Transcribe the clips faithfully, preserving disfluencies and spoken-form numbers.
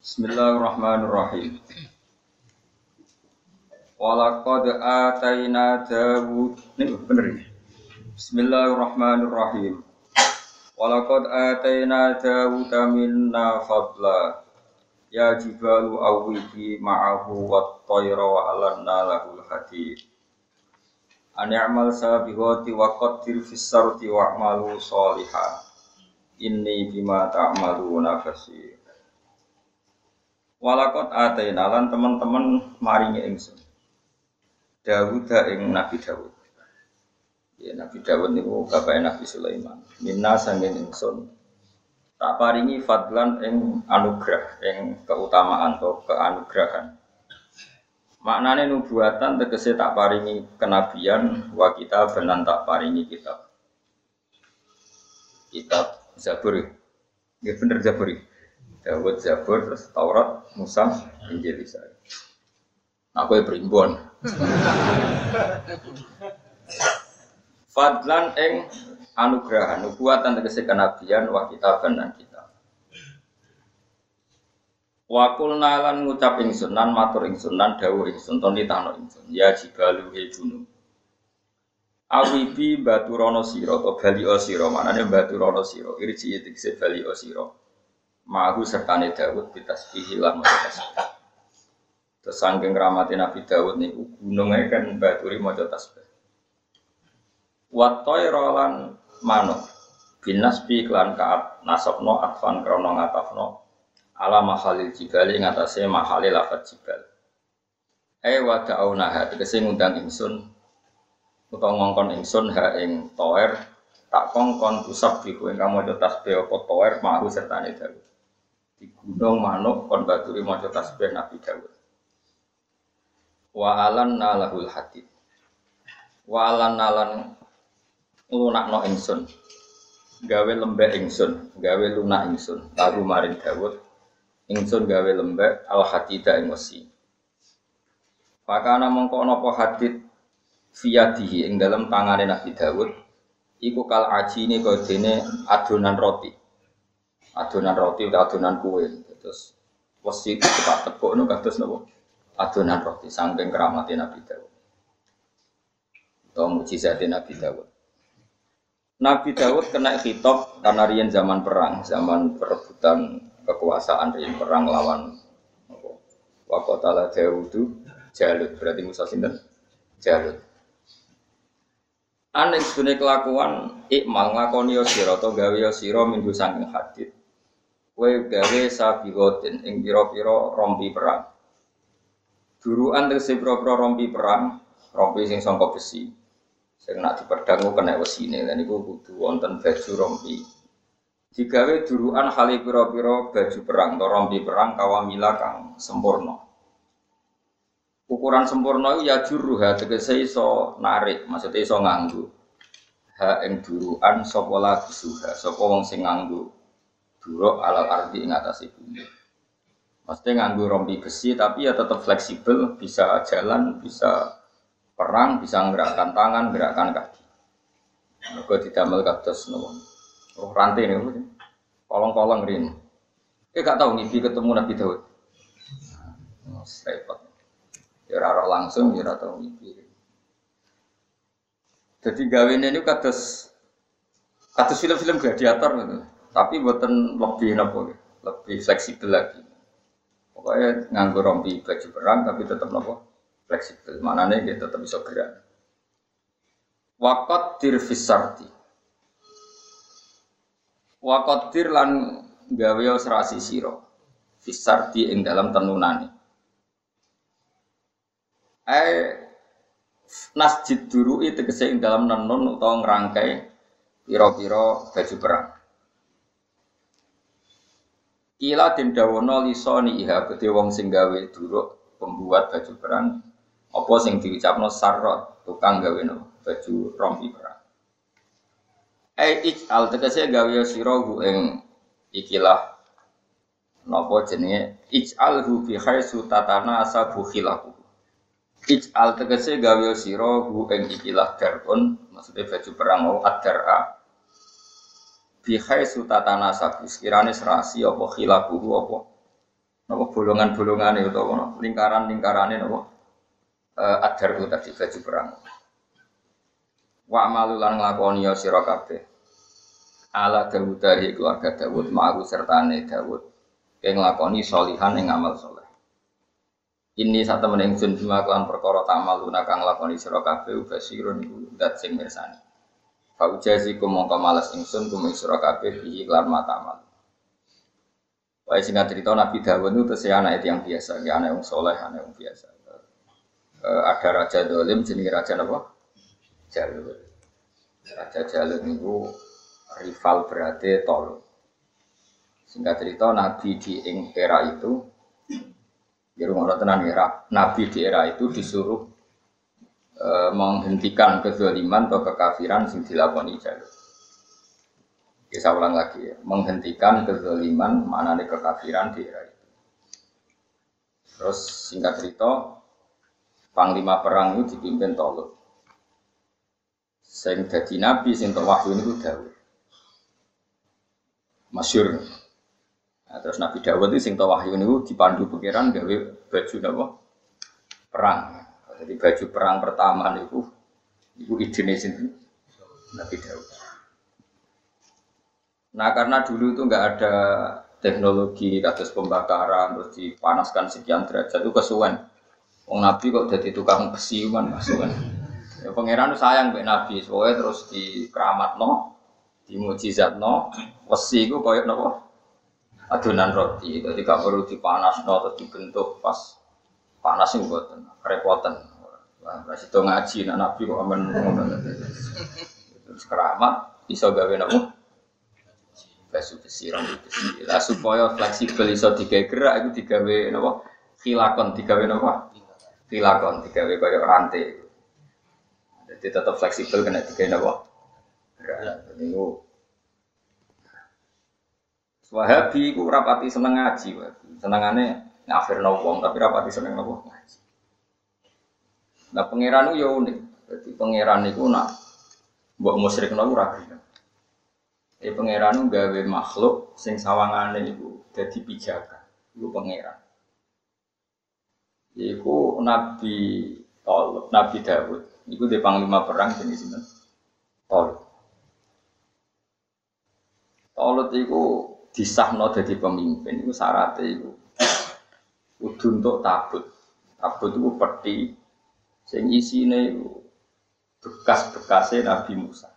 Bismillahirrahmanirrahim. Walaqad atayna Dawud. Ini bener ya? Bismillahirrahmanirrahim. Walaqad atayna Dawud minna fadla. Ya jibalu awwibi ma'ahu wat-tayra wa alanna lahul hadid. An ya'mal sabiqati wa qaddir fis sarti wa'malu sholihan. Inni bima ta'maluna basir. Walakot atayna lan teman-teman maringi ingsun Dawud ing Nabi Dawud. Ya Nabi Dawud niku bapake Nabi Sulaiman. Minna sanging ingsun tak paringi fadlan ing anugerah, ing keutamaan atau keanugerahan. Maknane nubuatan tegese tak paringi kenabian, wa kitab lan tak paringi kitab. Kitab Zabur. Ya bener Zabur. Dawud Zabur, terus Taurat, Musa, Injil Isa. Aku ya berimbon. Fadlan ing anugrahan, nubuatan tegese kenabian, wa kitaban dan kitab. Wa qulna lan ngucap ingsun lan matur ingsun lan dawuh ingsun ton ditano ingsun. Ya jibalu he gunung. Awibi baturono sira to bali sira, manane baturono sira, irji tegese bali sira. Ma'ahu sertane Dawud bitasbihi lan maca tasbih. Terus saking rahmati Nabi Dawud niku gununge kan baturi maca tasbih. Wa tayra lan manuk binasbi lan ka'at nasabno atfan krana ngatafno ala mahalil jibali ngatasé mahalil lafat jibal. Ai wa ta'una tegese ngundang ingsun utawa ngongkon ingsun ha ing toer tak kongkon tusabbihu ing maca tasbih apa toer ma'ahu sertane Dawud. Di gunung manuk kon baturi maca tasbih Nabi Dawud. Wa alanna lahul hadid. Wa alanna lan lunakno ingsun. Gawe lembek ingsun, gawe lunak ingsun. Lagu maring Dawud ingsun gawe lembek al hadida ing wesi. Pakana mongko napa hadid fiyadihi ing dalam tangane Nabi Dawud iku kal ajine kaya dene adonan roti. Adonan roti atau adonan kue, terus wesi itu cepat tepuk nu kados napa adonan roti saking keramate Nabi Dawud. Atau mukjizat Nabi Dawud. Nabi Dawud kena khitab karena riyen zaman perang, zaman perebutan kekuasaan riyen perang lawan apa? Wa qatala Dawudu Jalut, berarti Musa sinten? Jalut. Aneh sedune kelakuan ikmal nglakoni sira to gawe sira minggu saking hadid. Kowe gawe sabiqotin ing pira-pira rompi perang. Duruan tegese pira-pira rompi perang, rompi sing sangka besi. Sing nek dipedhang kena wesine, lan iku kudu wonten baju rompi. Digawe duruan hale pira-pira baju perang, to rompi perang kawamila kang sempurna. Ukuran sempurna iku ya juruha tegese iso narik, maksudnya iso nganggo. Ha ing duruan sapa lagi suha, sapa wong sing nganggo duruk alal ardi ing atase bumi. Mesti nganggo rompi besi tapi ya tetap fleksibel, bisa jalan, bisa perang, bisa menggerakkan tangan, gerakan kaki. Mergo didamel kados nopo. Roh rantai niku. Kolong-kolong rin. Kowe gak tau ngipi ketemu Nabi Daud. Nah, repot. Ya ora langsung ya ora tau ngipi. Jadi gawene niku kados kados film-film gladiator gitu. Tapi buatan lebih nopo, lebih fleksibel lagi. Pokoknya nganggo rompi baju perang tapi tetap nopo fleksibel. Maknanya dia tetap bisa gerak. Waqaddir fisarti. Waqaddir lan gawe serasi sira. Fisarti ing dalam tenunane. Ai nasjid duru itu tegese ing dalam nenun utawa ngrangkai pira-pira baju perang. Kila den dawono lisoni iha gede wong sing gawe duruk pembuat baju perang apa sing diucapno sarrot tukang gawe no baju rompi perang. Ai ij'al tegese gawe sira hu ing ikilah napa jenenge ij'alhu fi khaisu tatana asabu khilahu. Ij'al tegese gawe sira hu ing ikilah darun maksudnya baju perang mau ad-dar'a bihai sutatana sabu sekiranya serasi apa khilabuhu apa apa bolongan-bolongane utawa lingkaran-lingkarane napa uh, adar ku tadi baju perang. Wa malulan nglakoni ya sira kabeh. Ala Dawud dari keluarga Dawud ma'ru sertane Dawud kang nglakoni sholihan ing amal saleh. Ini sak temen ingsun bima kelan perkara tamaluna kang nglakoni sira kabeh basirun iku zat sing mirsani. Fa ujazi mongko males ingsun kum sira kabeh iki lan matamal. Wae singkat cerita Nabi Dawud itu tesih anak yang biasa, ya anak yang soleh, anak yang biasa. E, ada raja dolim jenenge raja apa? Jalul. Raja Jalul itu rival berarti Tol. Singkat cerita Nabi di ing era itu, di rumah tenan era Nabi di era itu disuruh e, menghentikan kezaliman atau kekafiran sing dilakoni Jalul. Saya ulang lagi ya, menghentikan kezaliman maknane kekafiran di era itu. Terus singkat cerita, panglima perang itu dipimpin Tolut. Sing dadi nabi sing tok wahyu niku Daud. Masyhur. Nah, terus Nabi Daud itu sing tok wahyu niku dipandu pangeran gawe baju napa? Perang. Jadi baju perang pertama niku iku idene sinten? Nabi Daud. Nah karena dulu itu nggak ada teknologi kados pembakaran terus dipanaskan sekian derajat itu kesuwen. Wong Nabi kok jadi tukang besi kan kesuwen. Ya pangeran sayang mbek Nabi, soalnya terus dikeramatno, dimujizatno, besi iku koyo napa? Adonan roti. Jadi gak perlu dipanasno terus dibentuk pas panas sing mboten kerepotan. Wah, ora sida ngaji nek Nabi kok amen ngono. Terus keramat iso gawe napa? Baju besi, rambut besi. Lah supaya fleksibel iso digawe gerak itu digawe napa? Khilakon digawe napa? Khilakon digawe kaya rantai. Jadi tetap fleksibel kena digawe napa? Gerak. Niku Wahabi iku rapati seneng ngaji, senengane ngafirno wong tapi rapati seneng napa ngaji. Nah pangeran yo unik. Dadi pangeran niku nak mbok musyrikno ora gelem. Eh pangeran gawe makhluk sing sawangane iku dadi pijakan. Iku pangeran. Iku Nabi Tol, Nabi Dawud. Iku di panglima perang jenenge sinten? Tol. Tolut iku disahno dadi pemimpin. Iku syaratnya iku kudu untuk tabut. Tabut iku peti sing isine iku bekas-bekase Nabi Musa.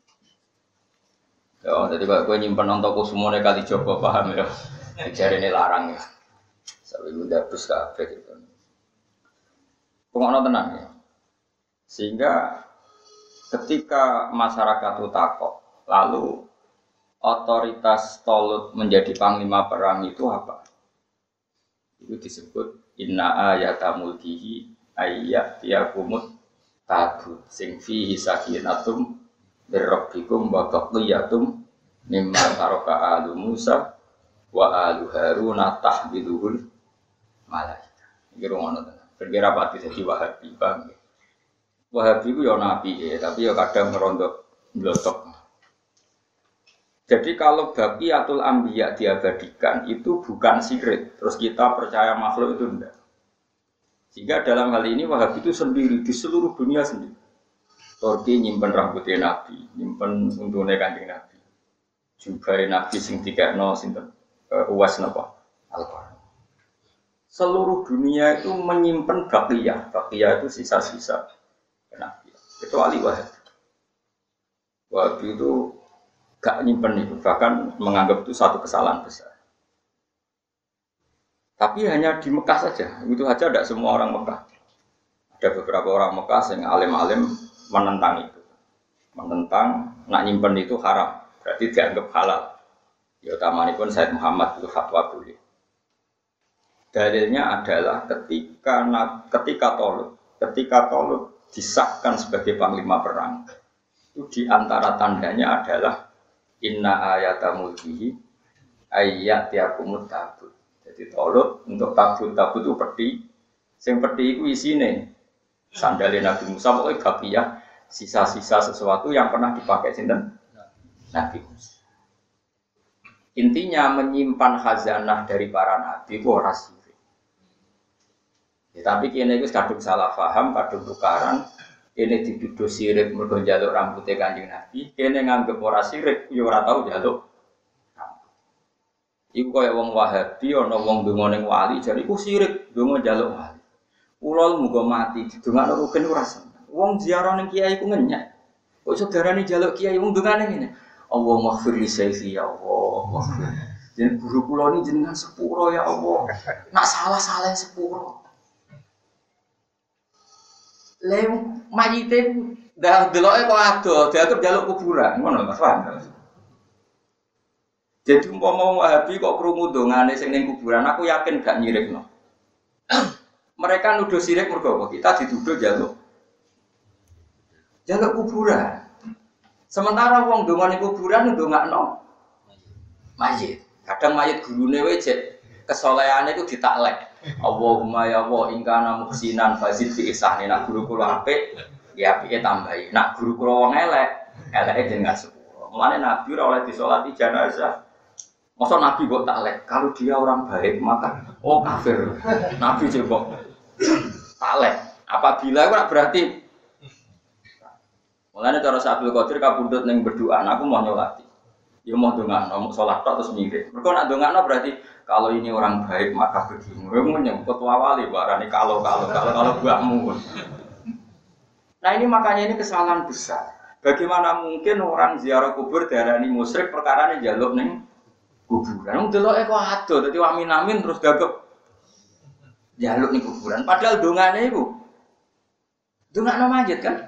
Ya, jadi kalau gue nyimpen untuk semuanya kali coba paham ya, cari ini larang ya, sampai gue dapus kafe gitu. Pengono tenang ya, sehingga ketika masyarakat itu takut, lalu otoritas Tolut menjadi panglima perang itu apa? Itu disebut inna ayata mulkihi ayat tiakumut tabut sing fihi sakinatum birrabbikum wa baqiyatum mimma taraka alu Musa wa alu Harun tahbiluhul malaika. Iki ngono tenan. Kira pati dadi Wahabi bang. Wahabi ku ya nabi ya, tapi ya kadang merondok blotok. Jadi kalau baqiyatul anbiya diabadikan itu bukan sirik, terus kita percaya makhluk itu enggak. Sehingga dalam hal ini Wahabi itu sendiri di seluruh dunia sendiri. Turki nyimpen rambutnya Nabi, nyimpen untune Kanjeng Nabi. Jubahe Nabi sing dikekno sinten uh, Uwas napa? Al-Qur'an. Seluruh dunia itu menyimpen baqiyah. Baqiyah itu sisa-sisa Nabi. Kecuali Wahabi. Wahabi itu gak nyimpen itu, bahkan menganggap itu satu kesalahan besar. Tapi hanya di Mekah saja. Itu saja tidak semua orang Mekah. Ada beberapa orang Mekah yang alim-alim menentang itu, menentang nak nyimpen itu haram, berarti dianggap halal. Ya utamanya pun Said Muhammad itu fatwa boleh. Dalilnya adalah ketika ketika Tolut, ketika Tolut disahkan sebagai panglima perang, itu diantara tandanya adalah inna ayata mulkihi ayat tiakumut tabut. Jadi Tolut untuk tabut tabut itu peti, sing peti itu isine sandalnya Nabi Musa pokoknya baqiyah sisa-sisa sesuatu yang pernah dipakai sinten Nabi Musa. Intinya menyimpan khazanah dari para nabi itu ora sirik. Ya, tapi kene iku kadung salah paham, kadung tukaran. Kene dituduh sirik mergo njaluk rambute Kanjeng Nabi, kene nganggep ora sirik, ya ora tau njaluk. Iku kaya wong Wahabi ana wong ndonga ning wali jare iku sirik, ndonga njaluk wali. Kula muga mati didongakno rugen ora seneng. Wong ziarah ning kiai ku ngenyek. Kok saudarane njaluk kiai wong ndongane ngene. Allah maghfir li sayyi ya Allah, maghfir. Jeneng guru kula ni jenengan sepuro ya Allah. Nak salah-salah sepuro. Lem mayite dah deloke kok ado, dianggap njaluk kuburan, ngono Mas paham. Jadi umpama Wahabi kok krungu dongane sing ning kuburan, aku yakin gak nyirikno. Mereka nuduh sirik mergo apa? Kita dituduh jaluk jaluk kuburan. Sementara wong dongane kuburan ndongakno mayit. Kadang mayit gurune wae jek kesolehane iku ditaklek. Allahumma ya Allah ingkana muhsinan fazid fi ihsani. Nak guru kula apik, ya apike tambahi. Nak guru kula wong elek, eleke jenengan sepuro. Mulane Nabi ora oleh disolati jenazah. Masa Nabi kok taklek? Kalau dia orang baik maka oh kafir. Nabi coba taklek. Apabila itu berarti mulanya cara Abdul Qadir kabundut yang berdoa, aku mau nyolati. Ya mau dongakno, mau sholat terus mirip. Mereka nak dongakno berarti kalau ini orang baik maka begini. Kamu nyebut wali barani kalau kalau kalau kalau buahmu. Nah ini makanya ini kesalahan besar. Bagaimana mungkin orang ziarah kubur darani musyrik perkara ini jaluk neng kuburan. Wong deloke kok ado, dadi amin-amin terus gagep jaluk ning kuburan. Padahal dongane iku dongakno mayit kan.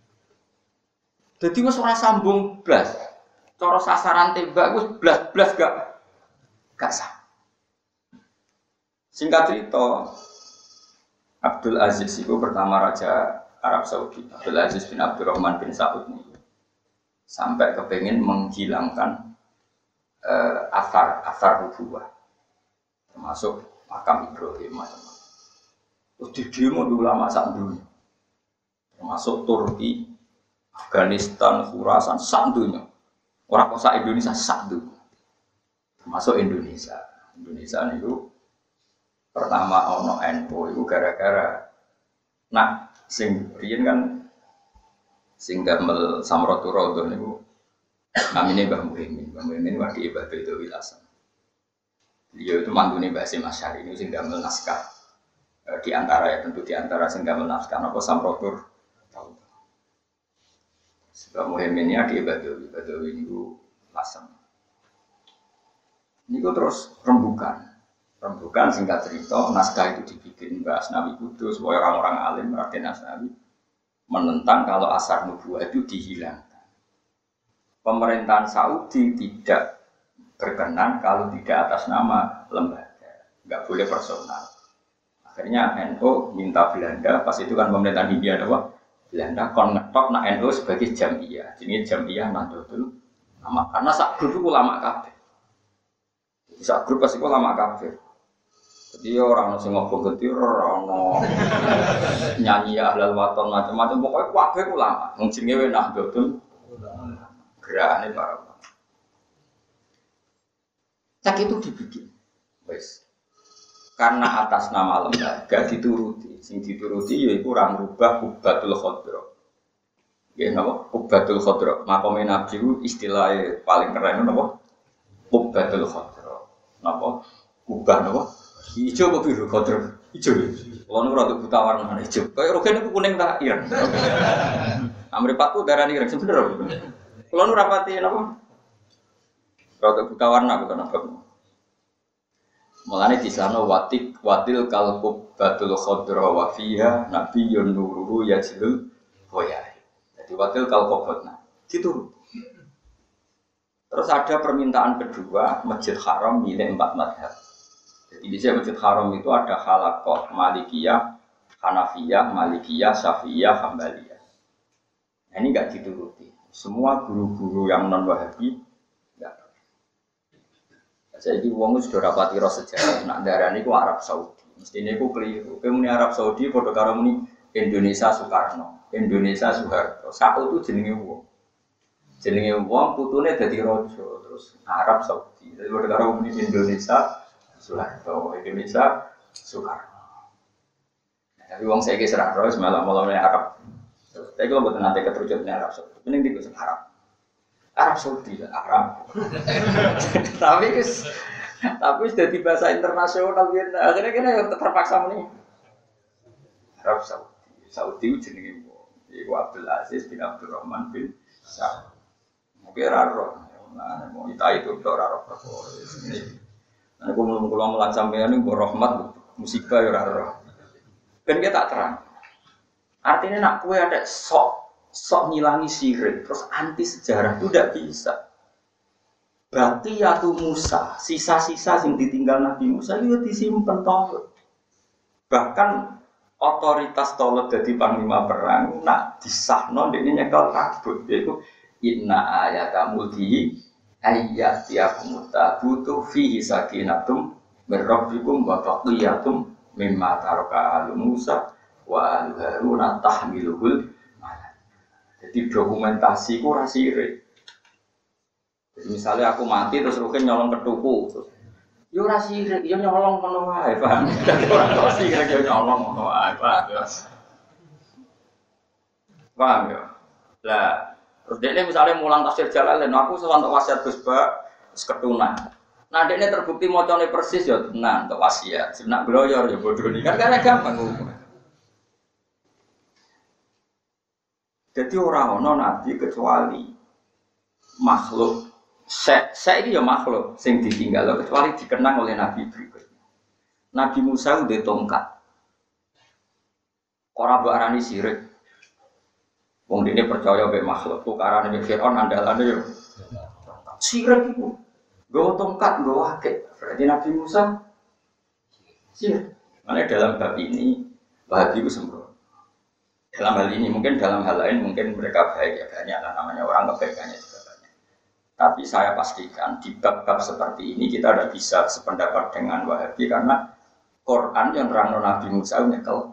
Dadi wis ora sambung blas. Cara sasaran tembak wis blas-blas gak gak sah. Singkat cerita, Abdul Aziz itu pertama raja Arab Saudi. Abdul Aziz bin Abdurrahman bin Saud ini sampai kepengen menghilangkan Uh, asar asar nubuwah termasuk makam Ibrahim macam-macam. Terus di demo di ulama sak dunia, termasuk Turki, Afghanistan, Khurasan sak dunia. Orang kota Indonesia sak dunia, termasuk Indonesia. Indonesia itu pertama ono N U itu gara-gara nah sing riyen kan sing damel Samratullah niku namanya Mbah Muhyiddin. Mbah Muhyiddin wadi Mbah Bedawi Hasan. Beliau itu mantune Mbah Hasyim Asy'ari ini sing damel naskah. E, di antara ya tentu di antara sing damel naskah napa Samratul tahu. Mbah Muhyiddin ini adi Bedawi, Bedawi niku Hasan. Niku terus rembukan. Rembukan singkat cerita naskah itu dibikin Mbah Asnawi Kudus supaya orang-orang alim Raden Asnawi menentang kalau asar nubuwah itu dihilangkan. Pemerintahan Saudi tidak berkenan kalau tidak atas nama lembaga, nggak boleh personal. Akhirnya N U minta Belanda, pas itu kan pemerintahan Hindia ada Belanda kon ngetok nak N U sebagai jamiah, jadi jamiah Nahdlatul Ulama. Karena sak grup itu ulama kafir, sak grup pasti ulama kafir. Jadi orang nasi ngobong getir, orang nyanyi ahlal waton macam-macam, pokoknya kafir ulama. Mungkin ngewe Nahdlatul gerakannya para ulama. Cak itu dibikin, wes. Karena atas nama lembaga dituruti, sing dituruti yaitu orang rubah Qubbatul Khodro. Ya napa? Qubbatul Khodro. Makome Nabi itu istilahnya paling keren napa? Qubbatul Khodro. Napa? Qubah napa? Ijo apa biru Khodro? Ijo. Kalau nu rada buta warna ijo. Kayak rogen itu kuning tak ireng. Amripatku darani ireng sebenarnya. Kalau nu rapati napa? Rada buta warna bukan apa. Mulane di sana watik watil kalqub batul khadra wa fiha nabiyyun nururu yajlul boyai. Jadi watil kalqubna gitu. Terus ada permintaan kedua Masjid Haram milik empat mazhab. Jadi di sini Masjid Haram itu ada Halaqah, Malikiyah, Hanafiyah, Malikiyah, Syafi'iyah, Hambaliyah. Nah, ini enggak dituruti. Semua guru-guru yang non Wahabi saya di wong sudah rapati ros sejarah, nak darani ku Arab Saudi. Mestinya ku keliru. Kemuni Arab Saudi padha karo muni Indonesia Soekarno, Indonesia Soeharto. Satu itu jenenge wong. Jenenge wong putune dadi raja, terus Arab Saudi. Jadi padha karo muni Indonesia Soeharto, Indonesia Soekarno. Tapi wong saiki serah terus malah malah Arab. Tapi kalau buat nanti keterucut Arab Saudi, mending di kusuk Arab. Arab Saudi lah Arab. Tapi kes, tapi sudah di bahasa internasional gitu. Akhirnya kita yang terpaksa nih. Arab Saudi, Saudi jenenge Iku Abdul Aziz bin Abdurrahman bin Saud. Mungkin raro, nah mau kita itu udah raro perkara ini. Nah, aku mau kalau melat sampean ini berrahmat musibah ya raro. Kan kita tak terang. Artinya nak kue ada sok sok ngilangi syirik, terus anti sejarah itu tidak bisa. Berarti ya tuh Musa, sisa-sisa yang ditinggal Nabi Musa itu disimpan toh. Bahkan otoritas tolot jadi panglima perang, nak disahno ini nyekel kabut, yaitu inna ayata mulkihi ayat tiakum tabutu fihi sakinatum berrabbikum wa baqiyatum mimma taraka alu Musa wa alu Harun tahmiluhul malak. Jadi dokumentasi ku rasire. Jadi misalnya aku mati terus rukin nyolong ketuku terus yo ora sirik, yo nyolong ngono wae, paham. Dadi ora kok sirik yo nyolong ngono wae, paham. Paham yo. Lah, terus dekne misalnya mulang tafsir Jalalain, aku sewantok wasiat Gus Ba, wis ketunan. Nah, dekne terbukti macane persis yo tenan untuk wasiat. Senak gloyor yo bodoh ini kan karena gampang hukum. Jadi orang ono nabi kecuali makhluk Saya, saya ini ya makhluk sing ditinggal kecuali dikenang oleh Nabi berikutnya. Nabi Musa udah tongkat. Orang berani sirik. Wong dene percaya be makhluk tukaran be Firaun andalane yo. Sirik iku. Nggawa tongkat, nggawa akeh. Berarti Nabi Musa sirik. Makanya dalam bab ini Wahabi itu sembrono. Dalam hal ini mungkin dalam hal lain mungkin mereka baik ya banyak lah namanya orang kebaikannya juga. Tapi saya pastikan di bab-bab seperti ini kita tidak bisa sependapat dengan Wahabi karena Quran yang terang Nabi Musa nyekel.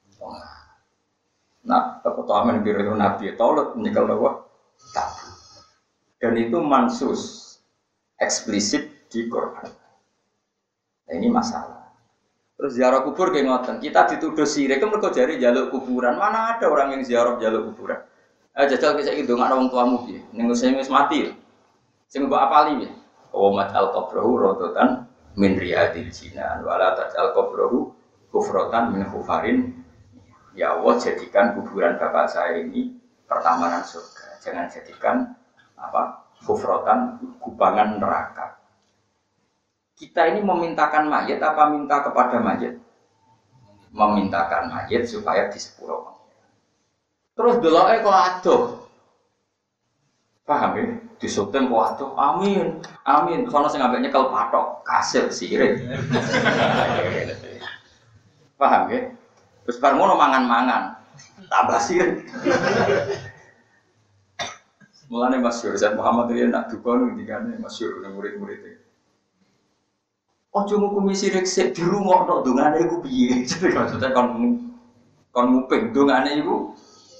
Nah, keutamaan biru Nabi Taurat nyekel bahwa tabu. Dan itu mansus eksplisit di Quran. Nah, ini masalah. Terus ziarah kubur kayak ngoten. Kita dituduh sirik kan mergo jari jaluk kuburan. Mana ada orang yang ziarah jaluk kuburan? Eh jajal kisah itu nggak orang tuamu piye. Ning wis mati. Sing mbok apali ya. Wa al qabrahu rodotan min riyadil jinan wala tajal qabrahu kufrotan min khufarin. Ya Allah jadikan kuburan bapak saya ini pertamanan surga. Jangan jadikan apa? Kufrotan kubangan neraka. Kita ini memintakan mayat apa minta kepada mayat? Memintakan mayat supaya disepuro. Terus deloke kok adoh. Paham ya? Disutem kok adoh. Amin. Amin. Sono sing ambek nyekel patok, kasil sirik. Paham ya? Terus bar ngono mangan-mangan. Tambah sirik. Mulane masyhur Said Muhammad riyen nak duka ngendikane masyhur nang murid-murid. Ojo ngukumi sirik sik dirungokno dongane iku piye? Jadi maksudnya kon kon nguping dongane iku.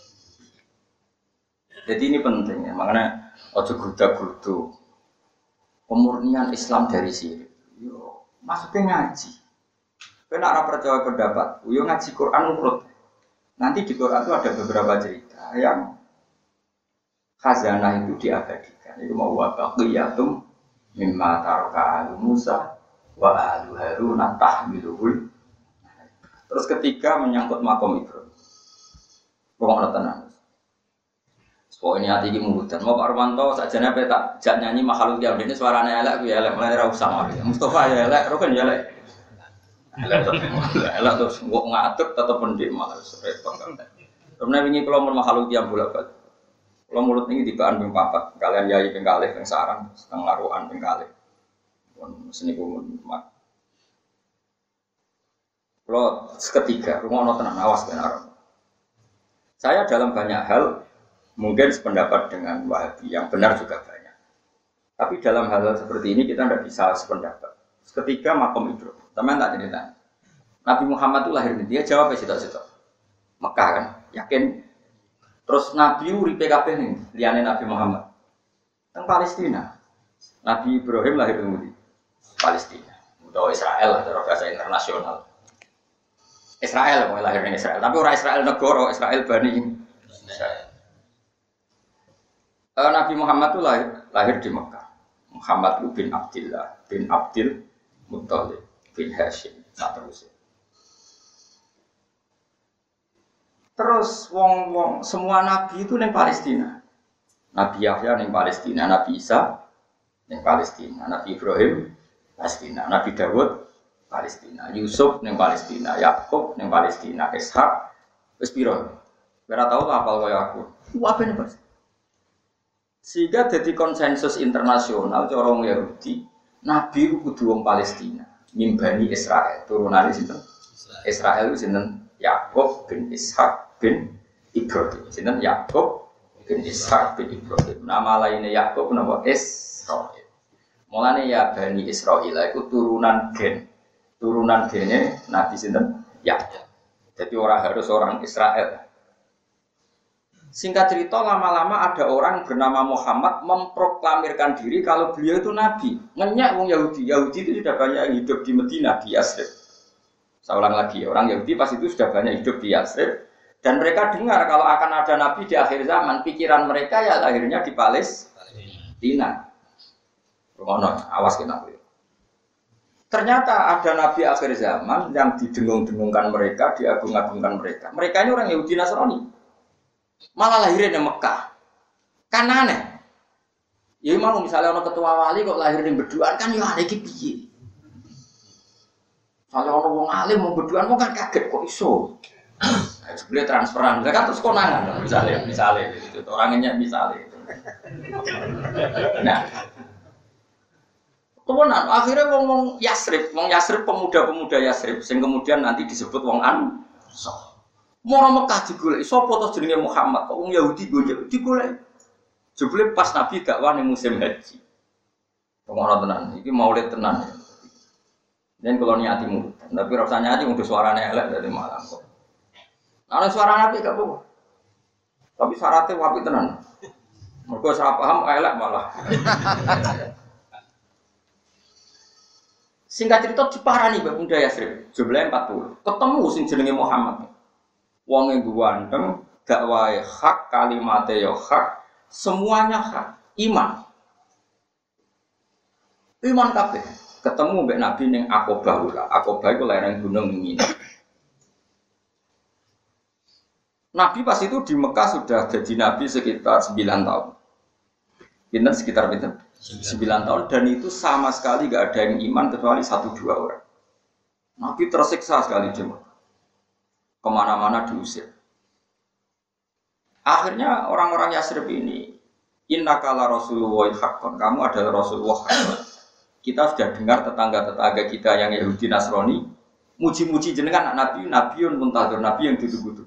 Jadi ini penting ya, makanya ojo grudak-gruduk. Pemurnian Islam dari sirik. Yo, maksudnya ngaji. Kena ora percaya pendapat, yo ngaji Quran urut. Nanti di Quran itu ada beberapa cerita yang khazanah itu diabadikan. Itu mau wabaqiyatum mimma taraka Musa wa alu Harun tahmiluhul. Terus ketiga menyangkut makom Ibrahim. Pokoknya tenang. So ini hati ini murutan. Mau Pak Romanto sajane apa tak jak nyanyi makhluk yang ini suaranya elek, ya elek, mulai rau sama. Mustafa ya elek, Rokan ya elek. Elek terus, elek terus nggak ngatur tetap pendik malah repot kan. Kemudian ini kalau mau makhluk yang bolak balik. Kalau mulut ini dibaan ping papat, kalian yai ping kalih ping sarang, setengah laruan ping kalih. Pun seni kumun mak. Kalau ketiga, rumah no tenang awas benar. Saya dalam banyak hal mungkin sependapat dengan Wahabi, yang benar juga banyak. Tapi dalam hal seperti ini kita tidak bisa sependapat. Ketiga makom Ibrahim, teman tak cerita. Nabi Muhammad itu lahir di dia jawab situ-situ. Mekah kan, yakin. Terus Nabi uripe kabeh ning liyane Nabi Muhammad. Teng Palestina. Nabi Ibrahim lahir di Palestina. Utawa Israel lah cara bahasa internasional. Israel, mau lahir ning Israel, tapi orang Israel negara, Israel Bani Israel. Uh, Nabi Muhammad itu lahir, lahir di Mekah. Muhammad bin Abdillah bin Abdil Muttalib bin Hashim. Nah, terus. Terus wong-wong semua nabi itu neng Palestina. Nabi Yahya neng Palestina, Nabi Isa neng Palestina, Nabi Ibrahim Palestina, Nabi Dawud Palestina, Yusuf neng Palestina, Yakub neng Palestina, Ishak wis piro. Ora tau apal kaya aku. Apa nih, Mas? Sehingga jadi konsensus internasional cara wong Yahudi, nabi ku kudu wong Palestina, mimbani Israel, turunane sinten? Israel itu sinten? Yakub bin Ishak bin Ibrahim. Sinten Yakub bin Ishak bin Ibrahim. Nama lainnya Yakub napa Israil. Mulane ya Bani Israil iku turunan gen. Turunan gene Nabi sinten? Yakub. Jadi orang harus orang Israel. Singkat cerita lama-lama ada orang bernama Muhammad memproklamirkan diri kalau beliau itu nabi. Ngenyak wong Yahudi. Yahudi itu sudah banyak hidup di Madinah, di Yathrib. Saya ulang lagi, orang Yahudi pas itu sudah banyak hidup di Yathrib dan mereka dengar kalau akan ada nabi di akhir zaman, pikiran mereka ya lahirnya di Palestina. Ngono, awas kena. Ternyata ada nabi akhir zaman yang didengung-dengungkan mereka, diagung-agungkan mereka. Mereka ini orang Yahudi Nasrani. Malah lahirnya di Mekah. Kan aneh. Ya mau misalnya orang ketua wali kok lahir di berduaan kan ya aneh iki piye. Kalau orang wong alim mau berduaan mau kan kaget kok iso. Nah, sebenarnya transferan, kan terus konangan misalnya, misalnya itu orangnya misalnya. Nah, kemudian akhirnya wong wong Yathrib, wong Yathrib pemuda-pemuda Yathrib, sing kemudian nanti disebut wong Ansor. Mau Mekah digolek, sapa to jenenge Muhammad, kok wong Yahudi golek, digolek. Jebule pas Nabi dakwah ning musim haji. Pengono tenan, iki maulid tenan. Dan kalau niati mulut, tapi rasanya aja untuk suaranya elek dari malam kok. Ada suara nabi gak apa-apa, tapi syaratnya wapi tenan. Mereka salah paham elek malah. Singkat cerita diparani Mbak Bunda Yathrib, jumlahnya empat puluh. Ketemu sing jenenge Muhammad. Wong yang ganteng, dakwah hak, kalimatnya ya hak, semuanya hak, iman. Iman kabeh. Ketemu mbek Nabi ning Aqabah ula. Aqabah iku lereng gunung Mina. Nabi pas itu di Mekah sudah jadi nabi sekitar sembilan tahun. Pinten sekitar pinten? sembilan tahun dan itu sama sekali enggak ada yang iman kecuali satu dua orang. Nabi tersiksa sekali di Mekah. Kemana-mana diusir. Akhirnya orang-orang Yathrib ini, innaka la rasulullah haqqan, kamu adalah Rasulullah haqqan. Kita sudah dengar tetangga-tetangga kita yang Yahudi Nasrani muji-muji jenengan anak Nabi, Nabiun muntazir, Nabi yang ditunggu-tunggu.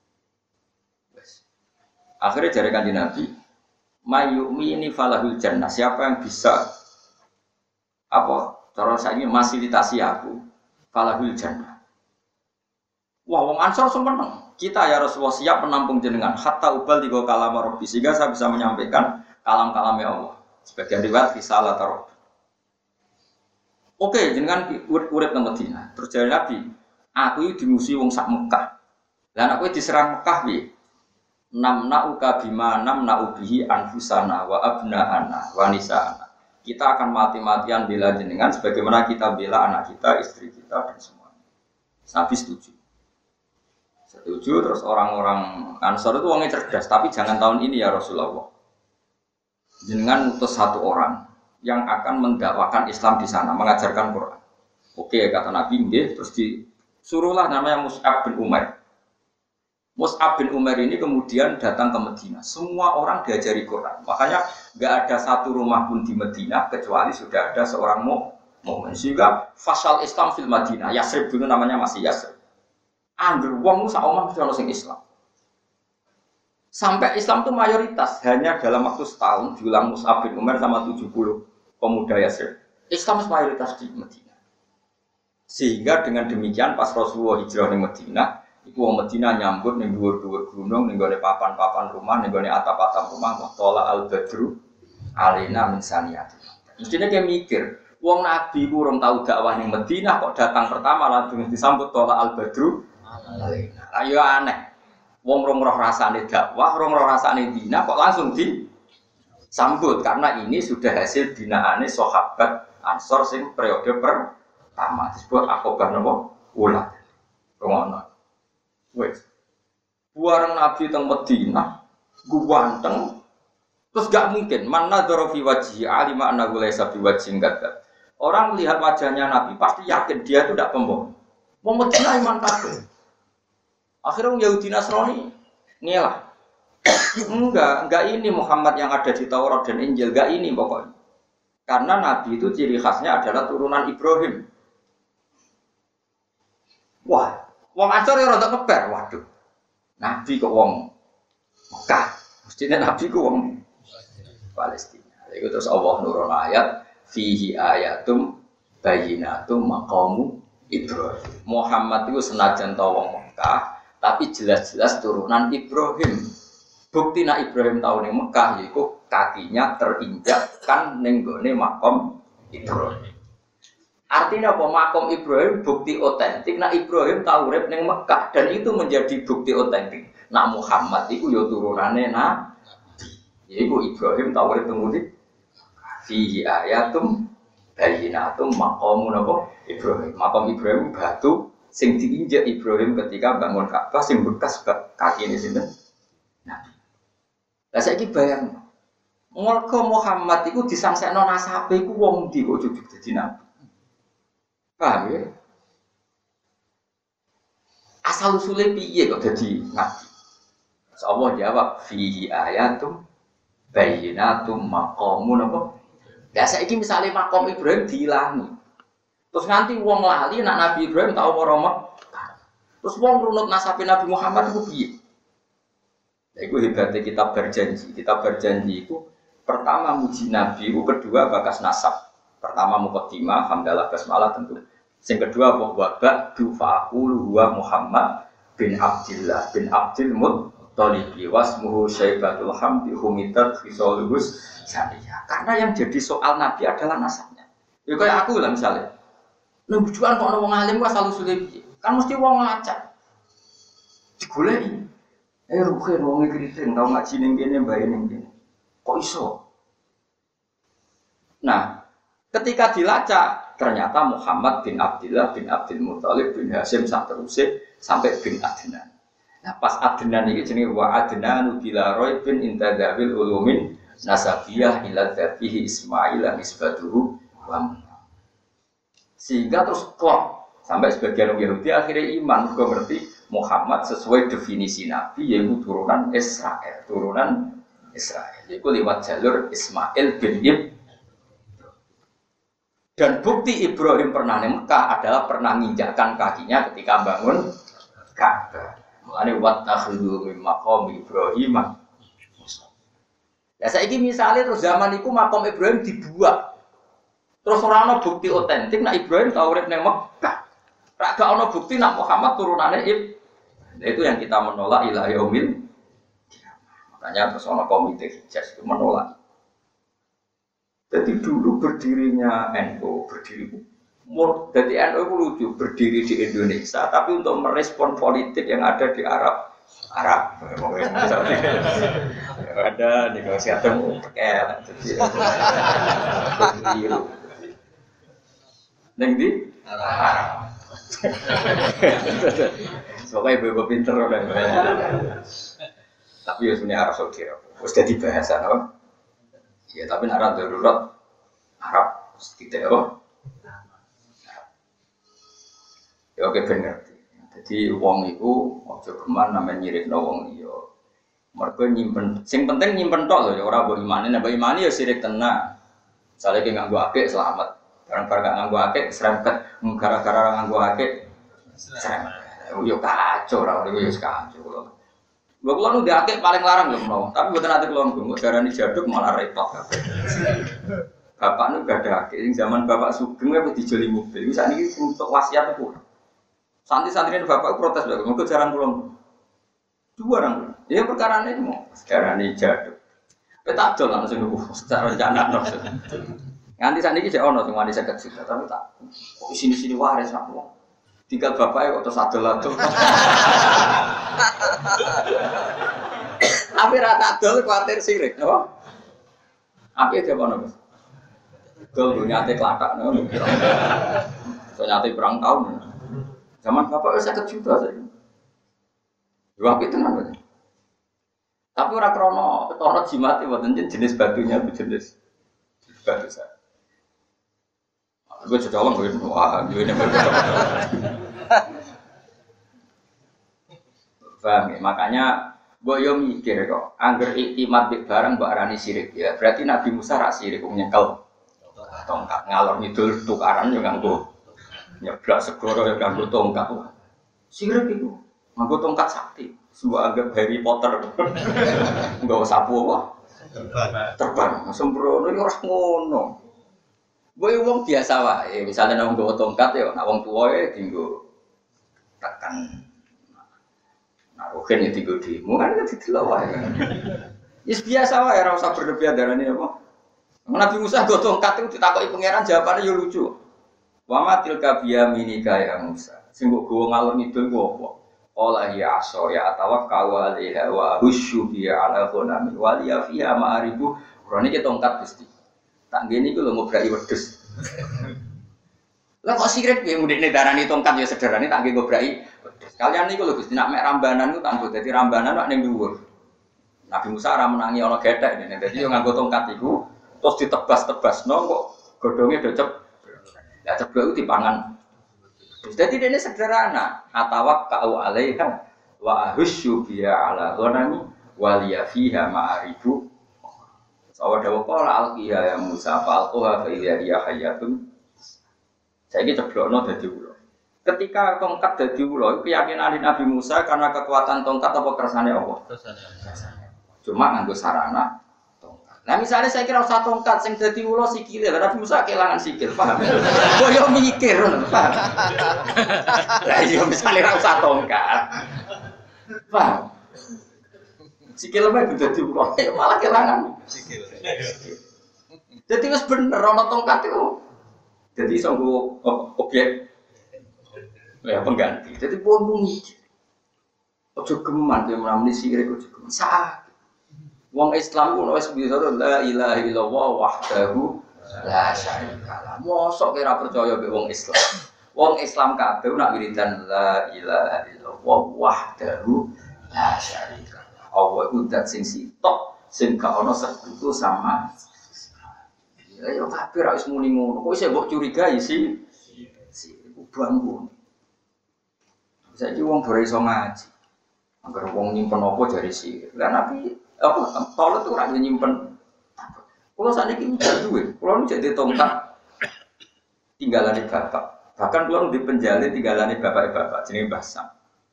Akhirnya dari kanjeng Nabi, mayyumini falahul jannah. Siapa yang bisa apa? Cara saya fasilitasi aku, falahul jannah. Wah, wong Ansor sempurna. Kita ya Rasulullah siap menampung jenengan. Hatta ubal tiga kalam Rabbi sehingga saya bisa menyampaikan kalam-kalamnya Allah. Sebagian riwayat risalah Rabbi. Oke, jenengan urip nang Madinah. Terus jare Nabi, aku iki dimusuhi wong sak Mekah. Lah aku diserang Mekah piye? Namna'uka bima namna'u bihi anfusana wa abna'ana wa nisa'ana. Kita akan mati-matian bela jenengan sebagaimana kita bela anak kita, istri kita dan semuanya. Nabi setuju. Setuju terus orang-orang Ansor itu wongnya cerdas, tapi jangan tahun ini ya Rasulullah. Jenengan utus satu orang yang akan mendakwakan Islam di sana, mengajarkan Quran. Oke, kata Nabi, nggih, terus disuruhlah namanya Mus'ab bin Umair. Mus'ab bin Umair ini kemudian datang ke Madinah. Semua orang diajari Quran. Makanya nggak ada satu rumah pun di Madinah kecuali sudah ada seorang mukmin. Sehingga fasal Islam fil Madinah. Yathrib dulu namanya masih Yathrib. Angger wong sak omah mesti ono sing Islam. Sampai Islam itu mayoritas hanya dalam waktu setahun diulang Mus'ab bin Umair sama tujuh puluh pemuda Yathrib. Islam mayoritas di Madinah. Sehingga dengan demikian pas Rasulullah hijrah di Madinah, iku wong Madinah nyambut ning dhuwur-dhuwur gunung, ning gone papan-papan rumah, ning gone atap-atap rumah, tola al-badru alaina min saniyati. Mestine kayak mikir, wong nabi ku urung tau dakwah ning Madinah kok datang pertama langsung disambut tola al-badru alaina. Ayo aneh. Wong rong roh rasane dakwah, rong roh rasane dina kok langsung disambut karena ini sudah hasil binaane sahabat Ansor sing periode pertama disebut akobah napa ula. Ngono. Wes. Buareng Nabi teng Madinah, ganteng. Terus gak mungkin mana dzarafi wajhi alima annahu laisa biwajhin kadzab. Orang melihat wajahnya Nabi pasti yakin dia itu tidak pembohong. Wong Madinah iman kabeh. Akhirnya Yahudi Nasrani ngelah. Enggak, enggak ini Muhammad yang ada di Taurat dan Injil, enggak ini pokoknya. Karena Nabi itu ciri khasnya adalah turunan Ibrahim. Wah, wong Ansor ya rada keber, waduh. Nabi kok wong Mekah, mestinya Nabi kok wong Palestina. Iku terus Allah nurun ayat fihi ayatum bayyinatum maqamu Ibrahim. Muhammad itu senajan ta wong Mekah tapi jelas-jelas turunan Ibrahim. Bukti nak Ibrahim tahu ning Mekah yaiku kakinya terinjakkan ning gone makom Ibrahim. Artinya apa? Makom Ibrahim bukti otentik nak Ibrahim tahu urip ning Mekah dan itu menjadi bukti otentik. Nak Muhammad iku ya turunane Nabi. Yaiku Ibrahim tahu urip teng fihi ayatum bayyinatum maqamun apa Ibrahim. Makom Ibrahim batu sing diinjak Ibrahim ketika bangun Ka'bah sing bekas kaki ini sinten? Nabi. Lah saiki bayang. Mulka Muhammad iku disangsekno nasabe iku wong ndi kok jujuk dadi nabi. Paham ya? Asal usule piye kok dadi nabi? Allah jawab fihi ayatum bayyinatum maqamun apa? Lah saiki misale makom Ibrahim diilangi. Terus nanti wong lali nak Nabi Ibrahim tau ora Mekah. Terus wong runut nasabe Nabi Muhammad iku piye? Lah iku hebatnya kitab berjanji. Kitab berjanji itu pertama muji Nabi, itu kedua bakas nasab. Pertama muqaddimah hamdalah basmalah tentu. Sing kedua wa ba'du fa'aqulu huwa Muhammad bin Abdillah bin Abdul Muttalib wasmuhu Syaibatul Hamdi humitat fisolus saniyah. Karena yang jadi soal Nabi adalah nasabnya. Ya kayak aku lah misalnya. Lha bujukan kok ana wong alim wae asal usule piye? Kan mesti wong ngelacak. Digoleki. Eh ruhe wong kriting tau ngaji ning kene mbae ning kene. Kok iso? Nah, ketika dilacak ternyata Muhammad bin Abdillah bin Abdul Muttalib bin Hasyim sak teruse sampai bin Adnan. Nah, pas Adnan iki jenenge wa Adnanu bila raibin intadawil ulumin nasabiyah ila dzatihi Ismail nisbatuhu wa sehingga terus klop sampai sebagian orang Yahudi akhirnya iman juga ngerti Muhammad sesuai definisi Nabi yaitu turunan Israel, turunan Israel yaitu lewat jalur Ismail bin Ibrahim. Dan bukti Ibrahim pernah di Mekah adalah pernah menginjakkan kakinya ketika bangun Ka'bah. Mulane wattakhidhu min maqam Ibrahim. Ya saiki misale terus zaman iku makom Ibrahim dibuat. Terus ora ana bukti otentik nak Ibrahim tau urip ning Mekah. Ra gak ana bukti nak Muhammad turunane Ibrahim. Nah, itu yang kita menolak ila yaumil kiamah. Makanya terus ana komite Hijaz itu menolak. Jadi dulu berdirinya N U berdiri jadi N U itu lucu berdiri di Indonesia tapi untuk merespon politik yang ada di Arab Arab ada negosiasi mau pakai jadi neng di Arab. Soalnya ibu-ibu pinter udah. Tapi ya sebenarnya Arab Saudi, harus jadi bahasa, no? Ya tapi Arab darurat Arab tidak, oh. Ya oke benar. Jadi uang itu ojo keman namanya nyirik no wong liya. Mergo nyimpen, sing penting nyimpen tok lho ya ora mbok imani, nek mbok imani ya sirik tenan. Misale ki nganggo akeh selamat. Barang-barang gak nganggo akeh serempet, gara-gara nganggo akeh serempet. Yo kacau ora niku yo kacau lho. Lha kula nu akeh paling larang lho menawa, tapi mboten ate kula nggo darani jaduk malah repot kabeh. Bapak nu gak ada akeh, zaman bapak sugeng wis dijoli mobil. Wis sakniki untuk wasiat pun. Santri-santrine bapak protes lho, mengko jaran kula. Dua orang. Ya perkara ini mau sekarang ini jaduk. Kita jual langsung dulu secara rencana no. Nanti saat ini saya ono cuma di sekat juta tapi tak. Kok di sini sini waris aku. Tinggal bapaknya kok terus adol-adol. Tapi rata adol khawatir sirik, apa? Apa dia apa nama? Dol nyate kelatak, nama. So nyate perang tahun. Zaman bapak saya kejuta saya. Dua itu namanya. Tapi orang krono krono jimat itu jenis batunya itu jenis batu saya. Gue sudah orang gue wah gue ini berbeda. Paham ya? Makanya gue yo mikir kok, angger iktimat bik barang mbak arani sirik ya. Berarti Nabi Musa rak sirik nyekel tongkat ngalor ngidul tukaran yo nganggo nyeblak segoro yo nganggo tongkat. Sirik itu nganggo tongkat sakti. Sebuah anggap Harry Potter. Enggak sapu apa? Terbang. Terbang. Sembrono yo ora ngono. Boy wong biasa wae, misalnya nang nggawa tongkat ya, nak wong tuwa ya dienggo tekan. Nah, oke nek dienggo demo kan didelok wae. Wis biasa wae ora usah berlebihan darane apa. Nabi Musa nggo tongkat itu ditakoki pangeran jawabane yo lucu. Wa matil kabiyaminika ya Musa. Sing mbok gowo ngalor ngidul ku apa? Qala ya aso ya tawakkal alaiha wa husyu bi ala ghanami wa li fiha ma'aribu. Rene ki tongkat Gusti. Tak gini gue lo ngobrol wedus. Lah kok sirik ya mudik darani tongkat ya sederhana tak gini ngobrol wedus. Kalian nih kalau gusti nak mek rambanan itu tangguh. Jadi rambanan nak neng dhuwur. Nabi Musa ora menangi ana gethek ini. Jadi yo nganggo tongkat iku terus ditebas-tebas no kok godhonge docep. Ya ceblok itu dipangan. Jadi ini sederhana. Atawak kau alaiha wa ahusyu biya ala ghanami wa liya fiha ma'aribu. Sawa dawa qala alqiha ya Musa fa alqaha fa idza hiya hayyatun. Saiki ceblokno dadi ula. Ketika tongkat dadi ula, keyakinan Nabi Musa karena kekuatan tongkat apa kersane Allah? Kersane. Cuma nganggo sarana tongkat. Nah misalnya saya kira usah tongkat sing dadi ula sikile, Nabi Musa kelangan sikil, paham? Kok yo mikir, paham? Lah iya misalnya ora usah tongkat. Paham? Sikil mah dadi ula, malah kelangan sikil. Jadi wis bener ana tongkat itu. Jadi sanggo objek ya pengganti. Jadi pun mikir. Ojo geman yo menamuni sirik ojo geman. Sak. Wong Islam ku wis bisa la ilaha illallah wahdahu la syarikalah. Mosok kira percaya mbek wong Islam. Wong Islam kabeh nak wiridan la ilaha illallah wahdahu la syarikalah. Allah itu dat sing sitok, sing gak ono sekutu sama. Ya yo tapi ra wis muni ngono. Kok isih mbok curigai sih? Si iku bangku. Saiki wong ora iso ngaji. Angger wong nyimpen apa jare sih. Lah nabi apa Paulo tuh ora nyimpen. Kulo sakniki ndak duwe. Kulo nu jadi tongkat tinggalane bapak. Bahkan kulo di penjalin tinggalane bapak-bapak jenenge Mbah Sam.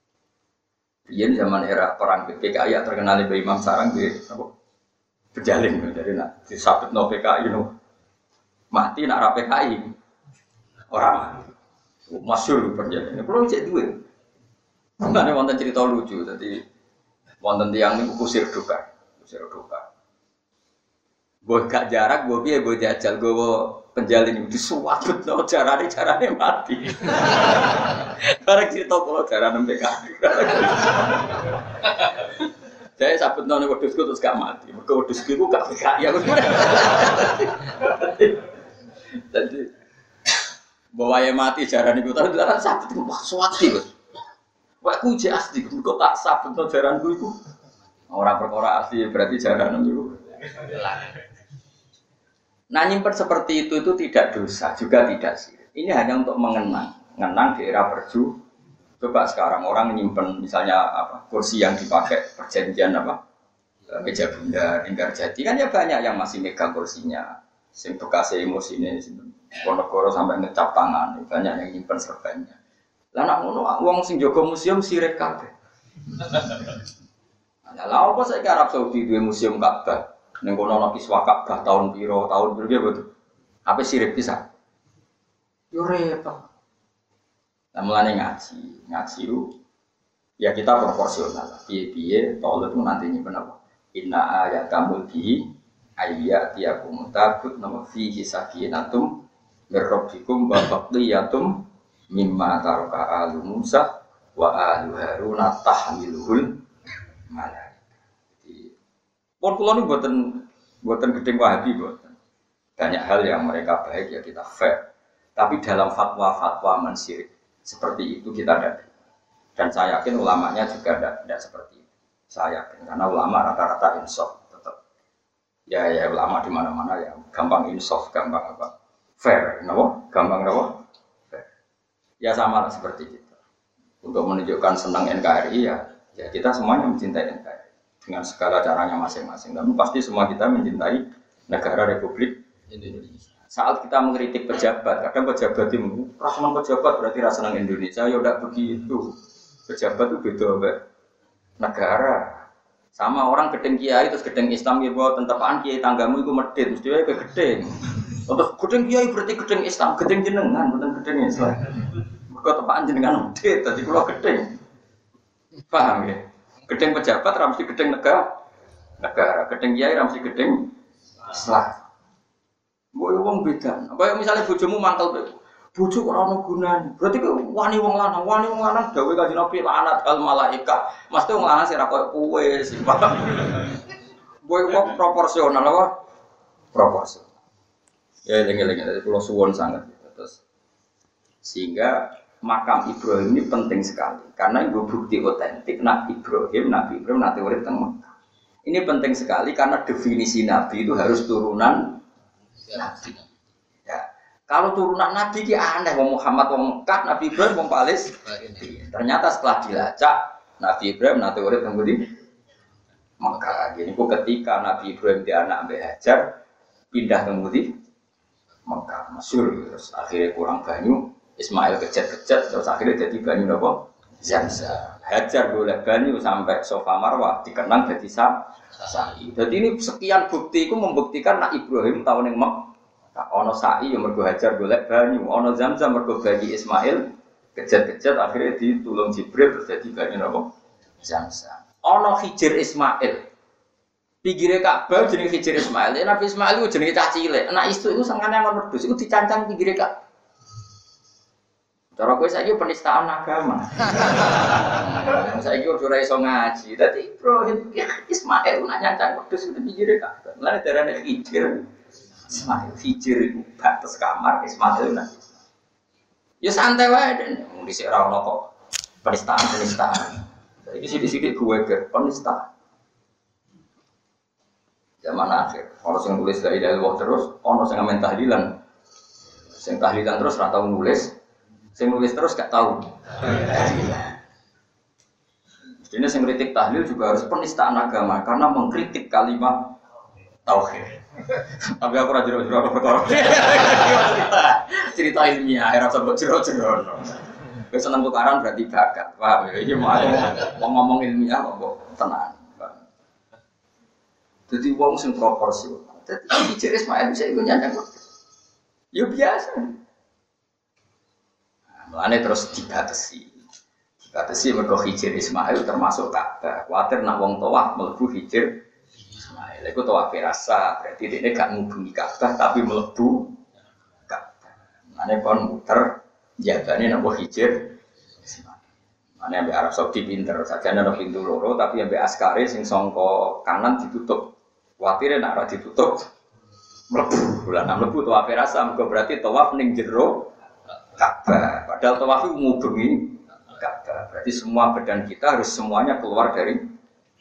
Iya zaman era perang P K I terkenal di Imam Sarang di apa berjalin dari nak disabet no P K I no mati nak ra P K I orang masyhur berjalin. Kalau cek duit, mana wonten cerita lucu. Jadi wonten tiang ini kusir duka, kusir duka. Boh gak jarak, boh biye, boh jajal, boh penjalin itu disuaput no carane carane mati. Barang cerita kalau carane P K I. Saya sabut none wedhusku terus gak mati. Mergo wedhusku iku gak P K I aku. Jadi bawae mati jarane iku terus lan sabut wah suwati, Bos. Wah ku jek asli kok tak sabutno jaranku iku. Ora perkara asli berarti jarane iku. Nah nyimpen seperti itu itu tidak dosa, juga tidak sirik. Ini hanya untuk mengenang, mengenang di era perju. Coba sekarang orang nyimpen misalnya apa kursi yang dipakai perjanjian apa meja bunda, lingkar jati kan ya banyak yang masih megang kursinya. Sing bekas emosi ini, Ponorogo sampai ngecap tangan, banyak yang nyimpen serbannya. Lah nak ngono wong sing jaga museum sirik kabeh. Nah, lha apa saiki Arab Saudi duwe museum Ka'bah? Ning kono ana kiswah Ka'bah tahun piro, tahun piro ya betul. Apa sirik bisa? Yo repot. Nah, mulane ngaji, ngaji itu ya kita proporsional. Piye-piye tolong itu nanti nyimpen apa? Inna ayatamul bihi ayyatiyakum tabut nama fihi sakinatum mirrabbikum wa baqiyatum mimma taraka alu Musa wa alu Harun tahmiluhul malaikah. Jadi pun kula niku mboten mboten gedeng Wahabi mboten. Banyak hal yang mereka baik ya kita fair. Tapi dalam fatwa-fatwa mensirik seperti itu kita tidak. Dan saya yakin ulamanya juga tidak, tidak seperti itu. Saya yakin karena ulama rata-rata insaf. Ya ya ulama di mana-mana ya gampang insaf, gampang apa? Fair, kenapa? Gampang kenapa? Fair. Ya sama lah seperti itu. Untuk menunjukkan senang N K R I ya, ya kita semuanya mencintai N K R I dengan segala caranya masing-masing. Tapi pasti semua kita mencintai negara Republik Indonesia. Saat kita mengkritik pejabat, kadang pejabat itu rasa pejabat berarti rasa senang Indonesia. Ya udah begitu. Pejabat itu beda be. Negara. Sama orang gedeng kiai terus gedeng Islam ya bahwa tentepaan kiai tanggamu itu medit mesti wae gedeng. Terus gedeng kiai berarti gedeng Islam, gedeng jenengan bukan gedeng Islam. Mergo tepaan jenengan medit dadi kula gedeng. Paham ya? Gedeng pejabat ra mesti gedeng negara. Negara gedeng kiai ra mesti gedeng Islam. Mbok wong beda. Kaya misalnya bojomu mangkel bojo ora ono gunane. Berarti kowe wani wong lanang, wani wong lanang dawuh Kanjeng Nabi laknat al malaika. Mesti wong lanang sing ra koyo kowe sing paham. Kowe kok proporsional apa? Proporsional. Ya eling-eling dadi kula suwun sangat. Terus sehingga makam Ibrahim ini penting sekali karena itu bukti otentik Nabi Ibrahim, Nabi Ibrahim nanti urip teng Mekah. Ini penting sekali karena definisi Nabi itu harus turunan Nabi. Kalau turunan Nabi ki aneh, wong Muhammad wong Mekah, Nabi Ibrahim wong Palestina. Ternyata setelah dilacak, Nabi Ibrahim nanti urip teng di Mekah. Jadi ketika Nabi Ibrahim dia anak Mbah Hajar pindah teng di Mekah, masyhur terus akhirnya kurang banyu, Ismail kejet-kejet terus akhirnya jadi banyu napa? Zamzam. Hajar golek banyu sampai Safa Marwah dikenang jadi sa'i. Jadi ini sekian bukti itu membuktikan nak Ibrahim tahun yang Mekah. Ono sa'i yang mergo Hajar golek banyu, ono Zamzam mergo bayi Ismail kejet-kejet akhirnya ditulung Jibril terus jadi banyu napa? Zamzam. Ono Hijir Ismail. Pinggire Ka'bah jenenge Hijir Ismail. Ya, Nabi Ismail itu jenenge cah cilik. Anak istu itu sangane ngono wedhus iku dicancang pinggire Ka'bah. Cara kowe saiki penistaan agama. Saiki ora iso ngaji. Dadi Ibrahim Ismail nak nyancang wedhus itu pinggire Ka'bah. Lah darane Hijir Ismail, Hijir itu batas kamar, Ismail nanti. Ya santai wae deh, mau disik ora ono kok penistaan-penistaan. Saiki sithik-sithik gue ger penistaan. Zaman akhir, ono sing nulis la ilaha illallah terus, ono sing ngamen tahlilan. Sing tahlilan terus ora tau nulis, sing nulis terus gak tau. Jadi sing kritik tahlil juga harus penistaan agama karena mengkritik kalimat tauhid. Tapi aku ora jero-jero apa perkara. Cerita ilmiah, ora sebut jero-jero. Wis seneng tukaran berarti bakat. Paham ya? Iki mau ngomong ilmiah kok tenang. Jadi wong sing proporsional. Dadi Hijir Ismail bisa iku nyanyang. Ya biasa. Mulane terus dibatasi. Dibatasi mergo Hijir Ismail termasuk Ka'bah. Kuwatir nak wong tawaf mlebu Hijir Ismail, itu tawaf rasa, berarti dia gak ngubungi Ka'bah tapi melebu Ka'bah. Mana kon muter, jagane nabo Hijir Ismail. Mana yang Arab Saudi pinter, saja ada pintu loro, tapi yang askari sing songko kanan ditutup. Khawatirnya nak ditutup, melebu. Bulan nak melebu tawaf rasa, berarti tawaf ning jero Ka'bah. Padahal tawaf itu ngubungi Ka'bah. Berarti semua badan kita harus semuanya keluar dari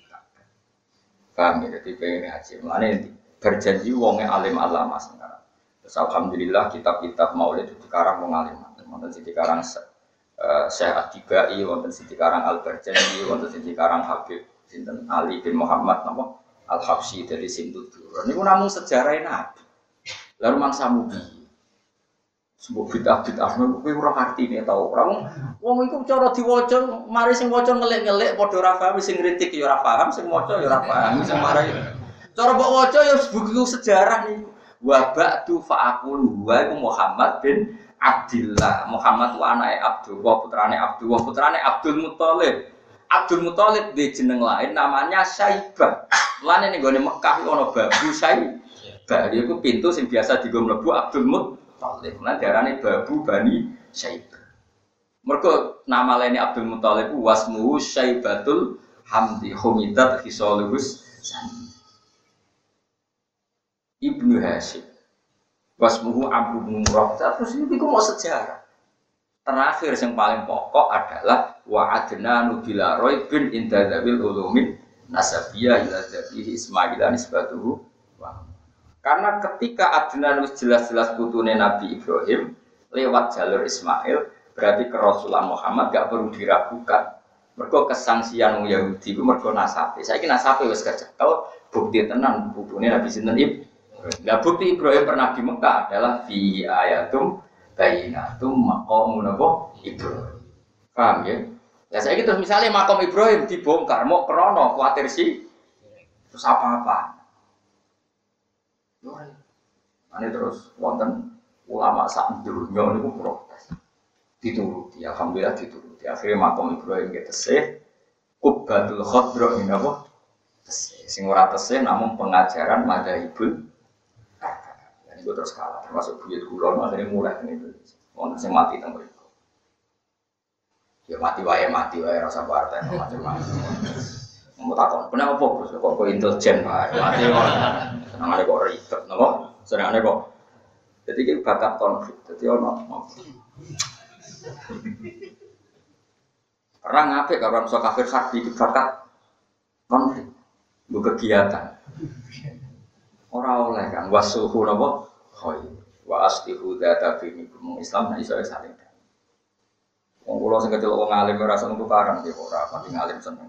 kami jadi pengen haji, mana berjanji wongnya alim alama sekarang. Terus alhamdulillah kitab-kitab maulid itu sekarang mengalim. Wonten sing dikarang uh, Syekh Atibai, wonten sing dikarang Al Barjanji, wonten sing dikarang Habib sinten Ali bin Muhammad napa Al Habsyi dari Sintudur. Niku namung sejarah Nabi. Lalu mangsa mubi. Sebuah bid'ah-bid'ah kowe ora artine tau. Ora wong wong iku cara diwaca, mari sing waca ngelik-ngelik padha ora paham, sing ngritik ya ora paham, sing maca ya ora paham, sing mari. Cara mbok waca ya buku sejarah niku. Wa ba'du fa'aqul wa iku Muhammad bin Abdillah. Muhammad wa anake Abdullah, putrane Abdullah, putrane Abdul Muthalib. Abdul Muthalib di jeneng lain namanya Syaibah. Lan ning gone Mekah ana babu Syaibah. Dia iku pintu sing biasa dienggo mlebu Abdul Muthalib. Talib, nah darahnya babu Bani Syaibah. Mergo nama lainnya Abdul Muthalib wasmuhu Syaibatul Hamdi Humidat Khisalus Ibnu Hashim. Wasmuhu Amr bin Murrah. Terus ini iku mau sejarah. Terakhir yang paling pokok adalah wa adnanu bila raibin inda dzabil ulumin nasabiyah ila dzabihi Ismail nisbatuhu. Karena ketika Adnan jelas-jelas putune Nabi Ibrahim lewat jalur Ismail, berarti ke Rasulullah Muhammad gak perlu diragukan. Mergo kesangsian Yahudi ku mergo nasabe. Saiki nasabe wis kecekel, bukti tenan putune Nabi sinten Ibrahim. Lah bukti Ibrahim pernah di Mekah adalah fi ayatum bayyinatum maqamun Ibrahim. Paham ya? Lah saiki terus misalnya makam Ibrahim dibongkar mau krana kuwatir sih. Terus apa-apa? Ini terus wonten ulama sak dunya niku protes. Dituruti, alhamdulillah dituruti. Akhirnya makam Ibrahim getesih Qubbatul Khadra ini apa? Tesih. Sing ora tesih namun pengajaran madzhabul. Nah, itu terus kalah termasuk buyut kula akhirnya mulai niku. Wonten sing mati teng mriku. Ya mati wae mati wae rasa partai macam-macam. Mau takon, kenapa fokus? Kok kok intelijen pak? Mati kok, senangnya kok ribet, nopo? Senangnya kok. Jadi kita bakat konflik. Jadi ono. Perang apa? Kalau orang kafir harbi itu bakat konflik, bu kegiatan. Orang oleh kan wasuhu nopo? Hoi, wastihu data bini kumung Islam nah iso saling. Wong kula sing kecil wong alim ora seneng tukaran ki ora pati ngalim seneng.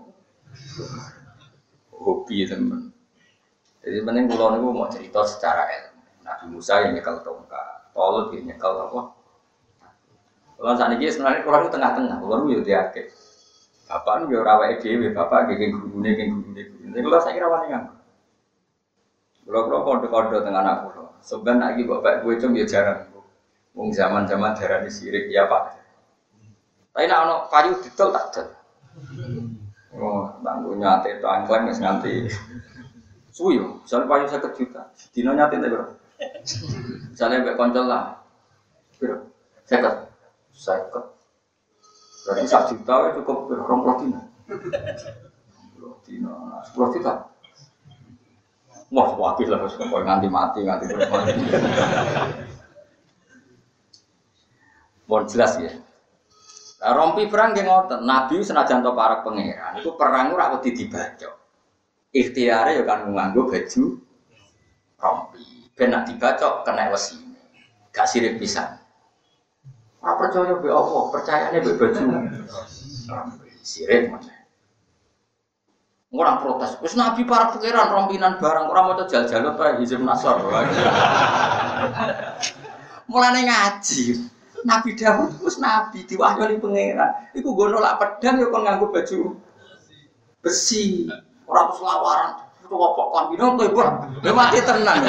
Hobi teman. Jadi penting kulo niku mau cerita secara ilmu. Nabi Musa yang nyekel tongkat, Talut yang nyekel apa? Kulo sakniki sebenarnya kulo niku tengah-tengah, kulo niku yo diake. Bapak niku yo ora awake dhewe, bapak nggih gurune nggih gurune. Nek kulo saiki rawani kan. Kulo-kulo kode-kode teng anak kulo. Sampeyan nek iki bapak kowe cung yo jarang. Wong zaman-zaman darani sirik ya Pak. Tapi nek ana kayu didol tak dol. Oh, tangguh nyate itu angkleng wis nganti suwi yo, misale payu seket juta. Dino nyate ta, Bro? Misale mbek kanca lah. Bro, seket. Seket. Berarti sak juta cukup rong puluh dino. Rong dino, sepuluh juta. Wah, wakil lah wis kok nganti mati, nganti mati. Bon jelas ya. Nah, rompi perang nggih ngoten, Nabi senajan to para pangeran, iku perang ora wedi dibacok. Ikhtiare ya kan nganggo baju rompi. Ben nek dibacok kena wesine. Gak sirik pisan. Ora percaya be Allah, percayane be baju rompi. Sirik mana? Orang protes. Wis Nabi para pangeran rompinan barang ora maca jal-jalut wae Hizb Nasr. Mulane ngaji. Nabi Dawud wis nabi diwahyoni pangeran. Iku nggo nolak pedang ya kon nganggo baju besi. Ora terus lawaran. Kok kombino tebak. Lah mati tenan.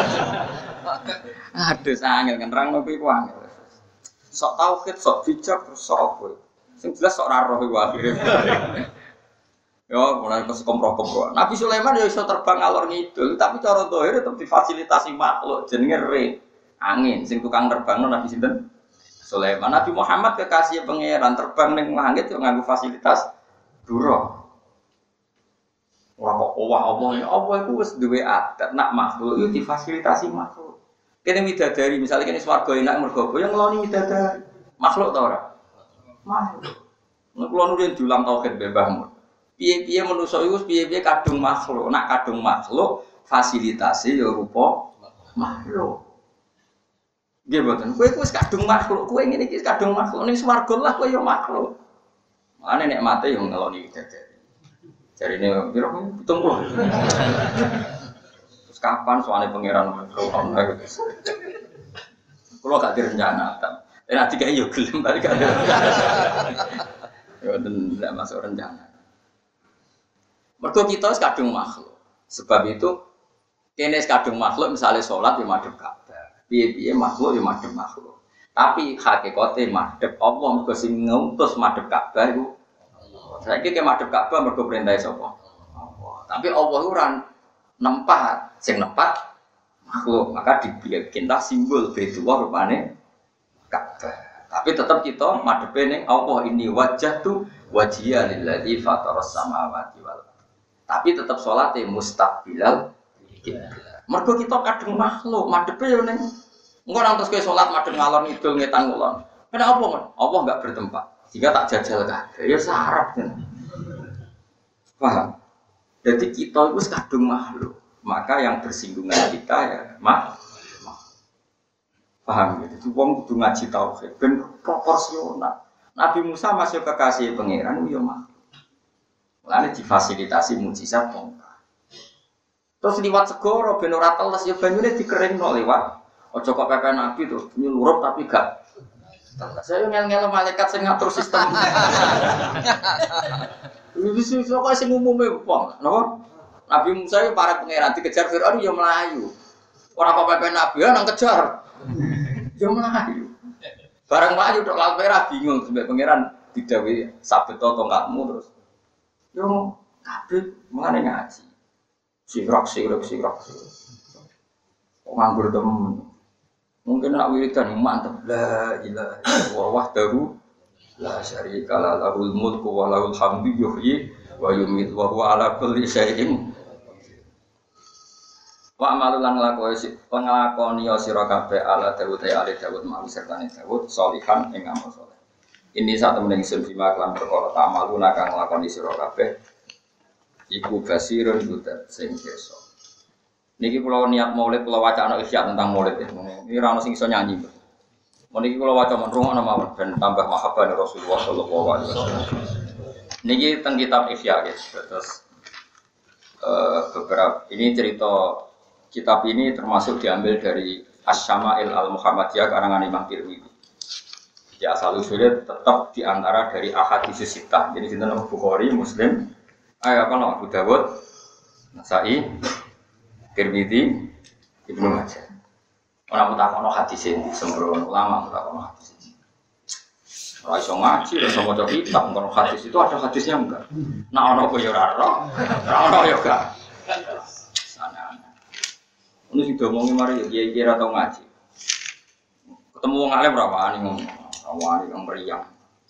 Aduh sangel kan nerangno kuwi ku angel. Sok tauhid, sok bijak, sok apa. Sing jelas sok ora roh iku akhire. Yo mulai kes kompro-kompro. Nabi Sulaiman ya iso terbang ngalor ngidul, tapi cara zahir tetep difasilitasi makhluk jenenge re. Angin sing tukang terbangno Nabi sinten? Sulaiman. Nabi Muhammad kekasih pangeran terbang ning langit yo nganggo fasilitas duro. Ora kok owah Allah ya Allah iku wis duwe adat nak makhluk yo difasilitasi makhluk. Kene widadari misalnya kene swarga enak mergo apa yo ngeloni widadari. Makhluk ta ora? Makhluk. Nek kula nurin diulang tauhid mbahmu. Piye-piye manusa iku piye-piye kadung makhluk. Nak kadung makhluk fasilitasi yo rupa makhluk. Nggih mboten. Kowe wis kadung makhluk, kowe ngene iki kadung makhluk ning swarga lah kowe yo makhluk. Mane nek mate yo ngeloni widadari. Jarine piro pitung puluh. Terus kapan soalnya pangeran ngono gitu. Kulo gak direncana, tapi nek dikai yo gelem balik gak. Yo den ndak masuk rencana. Mergo kita wis kadung makhluk. Sebab itu kene kadung makhluk misalnya salat yo madhep Ka'bah. Piye-piye makhluk ya madhep makhluk. Tapi hakikate madhep Allah mergo sing ngutus madhep Ka'bah iku. Saiki ke madhep Ka'bah mergo perintah sapa? Allah. Tapi Allah ora nempat, sing nempat makhluk. Maka dibikin simbol Baitullah rupane Ka'bah. Tapi tetap kita madhepe ning Allah ini wajah tu wajhiya lillazi fataras samawati wal ardh. Tapi tetap salate mustaqbilal kiblat. Mergo kita kadung makhluk madhepe yo ning engko nang terus kowe salat madhep ngalor ngidul ngetan ngulon. Kenapa mon? Allah enggak bertempat. Jika tak jajal kabeh ya sarap kan. Paham? Jadi kita itu kadung makhluk. Maka yang bersinggungan kita ya makhluk. Paham gitu. Wong kudu ngaji tauhid ben proporsional. Nabi Musa masih kekasih pangeran yo mah. Mulane difasilitasi mukjizat tongkat. Terus liwat segoro ben ora teles ya banyune dikeringno liwat. Aja kok pepe Nabi terus nyulurup tapi gak. Saya ngel-ngel malaikat sing ngatur sistem. Wis wis kok sing umume wong, napa? Nabi Musa yo para pangeran dikejar Firaun yo melayu. Ora kok pepe Nabi nang kejar. Yo melayu. Barang melayu tok laut merah bingung sampai pangeran didhawuhi sabet tongkatmu terus. Yo kabeh mangane ngaji. Sirak sirak sirak. Kok nganggur temen. Mungkin nak wiridan mantap la ilaha illallah wahdahu la syarika la lahul mulku wa lahul hamdu yuhyi wa yumiitu wa huwa ala kulli syai'in wa amalulan lakoni penglakoni sira kabeh ala Daud ya ali Daud mau sertane Daud sholihan ing amal saleh. Ini sak temene ingsun bima lan perkara tamaluna kang nglakoni sira kabeh iku basirun budak sing kersa. Niki kula niat maulid kula wacana isya tentang maulid ya. Ini ra ono sing iso nyanyi. Niki kula waca men rungokno mawon ben tambah mahabbah Rasulullah sallallahu alaihi wasallam. Niki teng kitab Ihya guys. Terus uh, beberapa ini cerita kitab ini termasuk diambil dari Asy-Syama'il Al-Muhammadiyah karangan Imam Tirmidzi. Ya asal usulnya tetap diantara dari ahadits sittah. Jadi sinten Bukhari, Muslim, ayo apa nama Abu Dawud, Nasa'i, Tirmidzi, Ibnu Majah. Orang mutakono hadis ini sembrono ulama mutakono hadis ini. Ora iso ngaji, ora iso maca kitab, ngono hadis itu ada hadisnya enggak? Nah ono apa ya ora ora. Ora ono ya enggak. Sana. Ono sing diomongi mari ya kiai kira tau ngaji. Ketemu wong alim ora wani ngomong, ora wani ngomong meriang.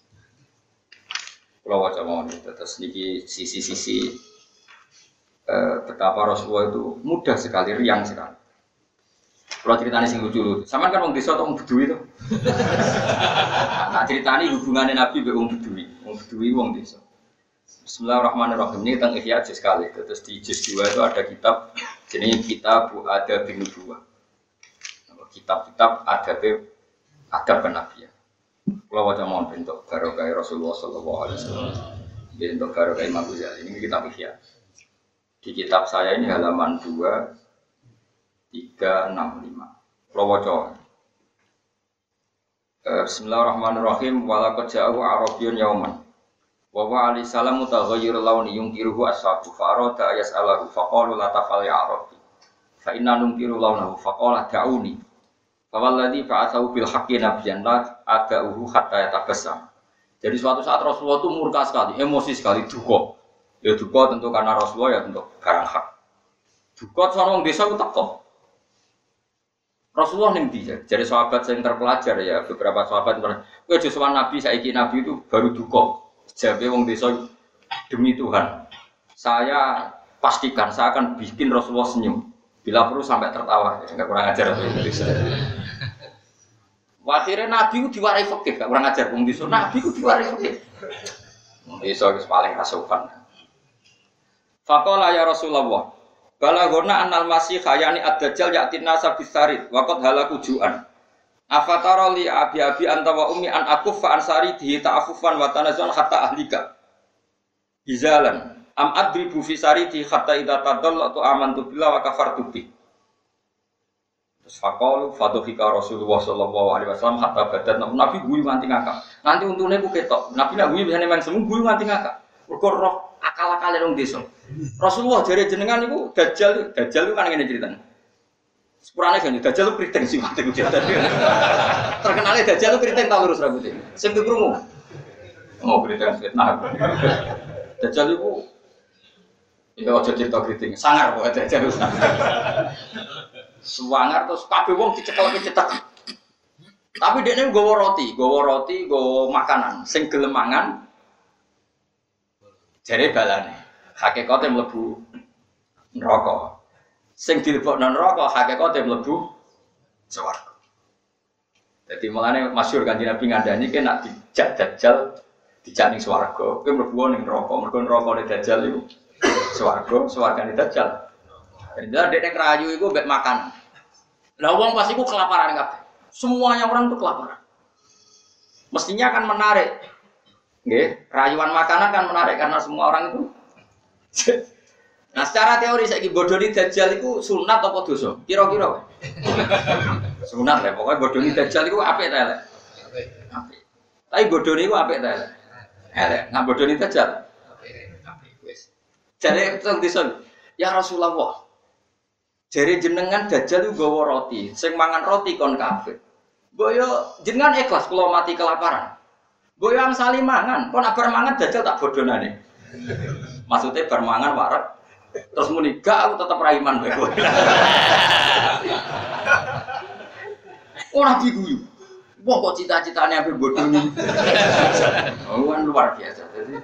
Kula waca mawon terus niki sisi-sisi eh, betapa Rasulullah itu mudah sekali, riang sekali. Kalau ceritanya sing lucu, sama kan wong desa atau wong bedui itu. Nah ceritanya hubungannya Nabi dengan wong bedui, wong bedui wong desa. Bismillahirrahmanirrahim. Ini tentang Ihya juz kali. Terus di juz dua itu ada kitab jenis kitab Adab bin Nubuwah. Kitab-kitab adab adab penabian. Kalau wajah mohon bentuk barokah Rasulullah sallallahu alaihi wasallam. Bentuk barokah Imam Ghazali. Ini kitab Ihya. Di kitab saya ini halaman dua tiga enam lima. Kalau wajah. Bismillahirrahmanirrahim. Walaqad ja'ahu Arabiyyun yauman. Wa wa alaihi salam mutaghayyir launi yunkiruhu ashabu fa arada yas'alahu fa qalu la tafal ya Arabi. Fa inna nunkiru launahu fa qala da'uni. Fa walladhi ba'athahu bil haqqi nabiyyan la ada'uhu hatta yatabassam. Jadi suatu saat Rasulullah itu murka sekali, emosi sekali, duka. Ya duka tentu karena Rasulullah ya tentu barang hak. Duka sono wong desa ku teko. Rasulullah ning ndi? Jadi sahabat yang terpelajar ya, beberapa sahabat kowe aja sowan Nabi saiki Nabi itu baru duka. Jabe wong desa demi Tuhan. Saya pastikan saya akan bikin Rasulullah senyum. Bila perlu sampai tertawa, enggak kurang ajar itu. Akhirnya Nabi itu diwarai fikih, enggak kurang ajar wong desa. Nabi itu diwarai fikih. Wong desa wis paling kasukan. Faqala ya Rasulullah Balagona annal masih khayani ad-dajjal ya'tin nasa bisarid waqad halaku ju'an. Afatara li abi-abi anta wa ummi an akuffa ansari dihi ta'affufan wa tanazun hatta ahlika. Bizalan am adribu fi saridi hatta idza tadallatu amantu billahi wa kafartu bi. Terus faqalu fadhika Rasulullah sallallahu alaihi wasallam hatta badat Nabi guyu nganti ngakak. Nanti untune ku ketok. Nabi nak guyu biasane men semu guyu nganti ngakak. Mergo roh akal-akale wong desa. Rasulullah jare jenengan niku dajjal, dajjal itu kan ngene ceritane. Sepurane kan dajjal itu kriting sih mate kuwi dajjal. Terkenale dajjal itu kriting ta lurus rambutnya. Sing krungu. Oh, kriting fitnah. Dajjal itu iki aja cerita kriting, sangar kok dajjal. Suwangar terus kabeh wong dicekel-cetek. Tapi dia ini gowo roti, gowo roti, gowo makanan, sing gelem mangan. Jare balane. Hakikate mlebu neraka. Sing dilebokno neraka hakikate mlebu swarga. Dadi mulane masyhur Kanjeng Nabi ngandani ki nek dijak dajjal dijak ning swarga, kowe mlebu ning neraka. Mergo nerakane dajjal iku swarga, swargane dajjal. Jadi dia kerayu itu mbek makan. Lah wong pas iku kelaparan kabeh. Semuanya orang itu kelaparan. Mestinya akan menarik. Nggih, rayuan makanan kan menarik karena semua orang itu. Nah, secara teori saiki bodoni dajjal iku sunat apa dosa? Kira-kira. Sunat lah, pokoknya bodoni dajjal iku apik ta elek? Apik. Apik. Tapi bodoni iku apik ta elek? Elek. Nah bodoni dajjal apik. Apik wis. Jare teng disen, ya Rasulullah. Jare jenengan dajjal iku gawa roti, sing mangan roti kon kafir. Mbok yo jenengan ikhlas kula mati kelaparan. Mbok yo angsali mangan, kon bar mangan dajjal tak bodonane. Maksudnya bar mangan warak terus muni gak aku tetep ra iman bae kowe. Ora diguyu. Wong kok cita-citane ape bodoni. Oh kan luar biasa. Jadi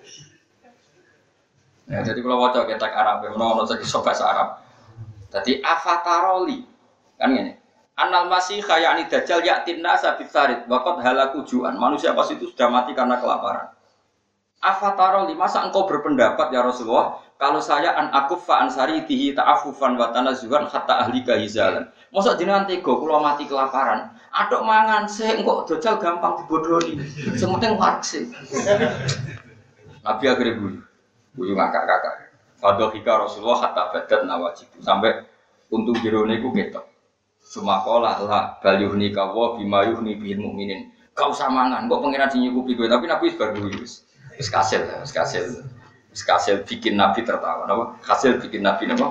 Nah, jadi kalau waca ketek Arab, ono ono sing bahasa Arab. Jadi afataroli kan ini. Anal masih khayani dajjal yatin nasa bisarid waqad halaku juan. Manusia pas itu sudah mati karena kelaparan. Afataroli masa engkau berpendapat ya Rasulullah kalau saya an akufa ansari tihi ta'affufan wa tanazzuhan hatta ahlika hizalan. Mosok jenengan tega kula mati kelaparan. Aduk mangan sik engko dajjal gampang dibodoni. Sing penting warkse. Nabi akhirnya guyu. Guyu ngakak-ngakak. Fadhika Rasulullah hatta badat nawajibu sampai untung jerone iku ketok. Sumakola la balyuhni kawa bima yuhni bil mukminin. Kau usah mangan, kok pangeran sing nyukupi kowe tapi Nabi wis bar guyu wis. Wis kasil, wis kasil. Wis kasil bikin Nabi tertawa, napa? Hasil bikin Nabi napa?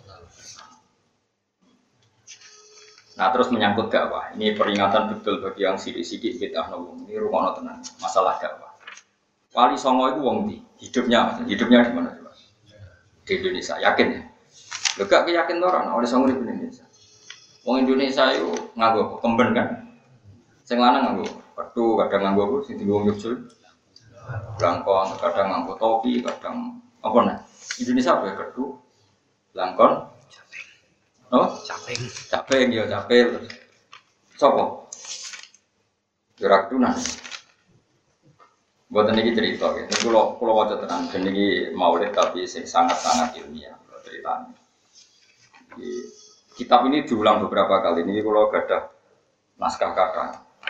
Nah, terus menyangkut dakwah. Ini peringatan betul bagi yang sidik-sidik bid'ah napa. Ini rumono tenan, masalah dakwah. Wali Songo itu wong ndi? Hidupnya, hidupnya di mana coba? Di Indonesia, yakin ya? Lho gak yakin to ora Wali Songo di Indonesia. Wong Indonesia itu nganggo kemben kan? Sing lanang nganggo petu, kadang nganggo apa sing dienggo Yogyakarta. Langkon, kadang nganggo topi, kadang apa nah? Indonesia apa ya kedu? Langkon, oh, caping, caping ya caping. Sopo? Gerak tunan. Buat ini cerita, ini kalau kalau wajah tenang, ini maulid tapi sangat-sangat ilmiah ceritanya. Di, kitab ini diulang beberapa kali. Ini kalau ada naskah kata,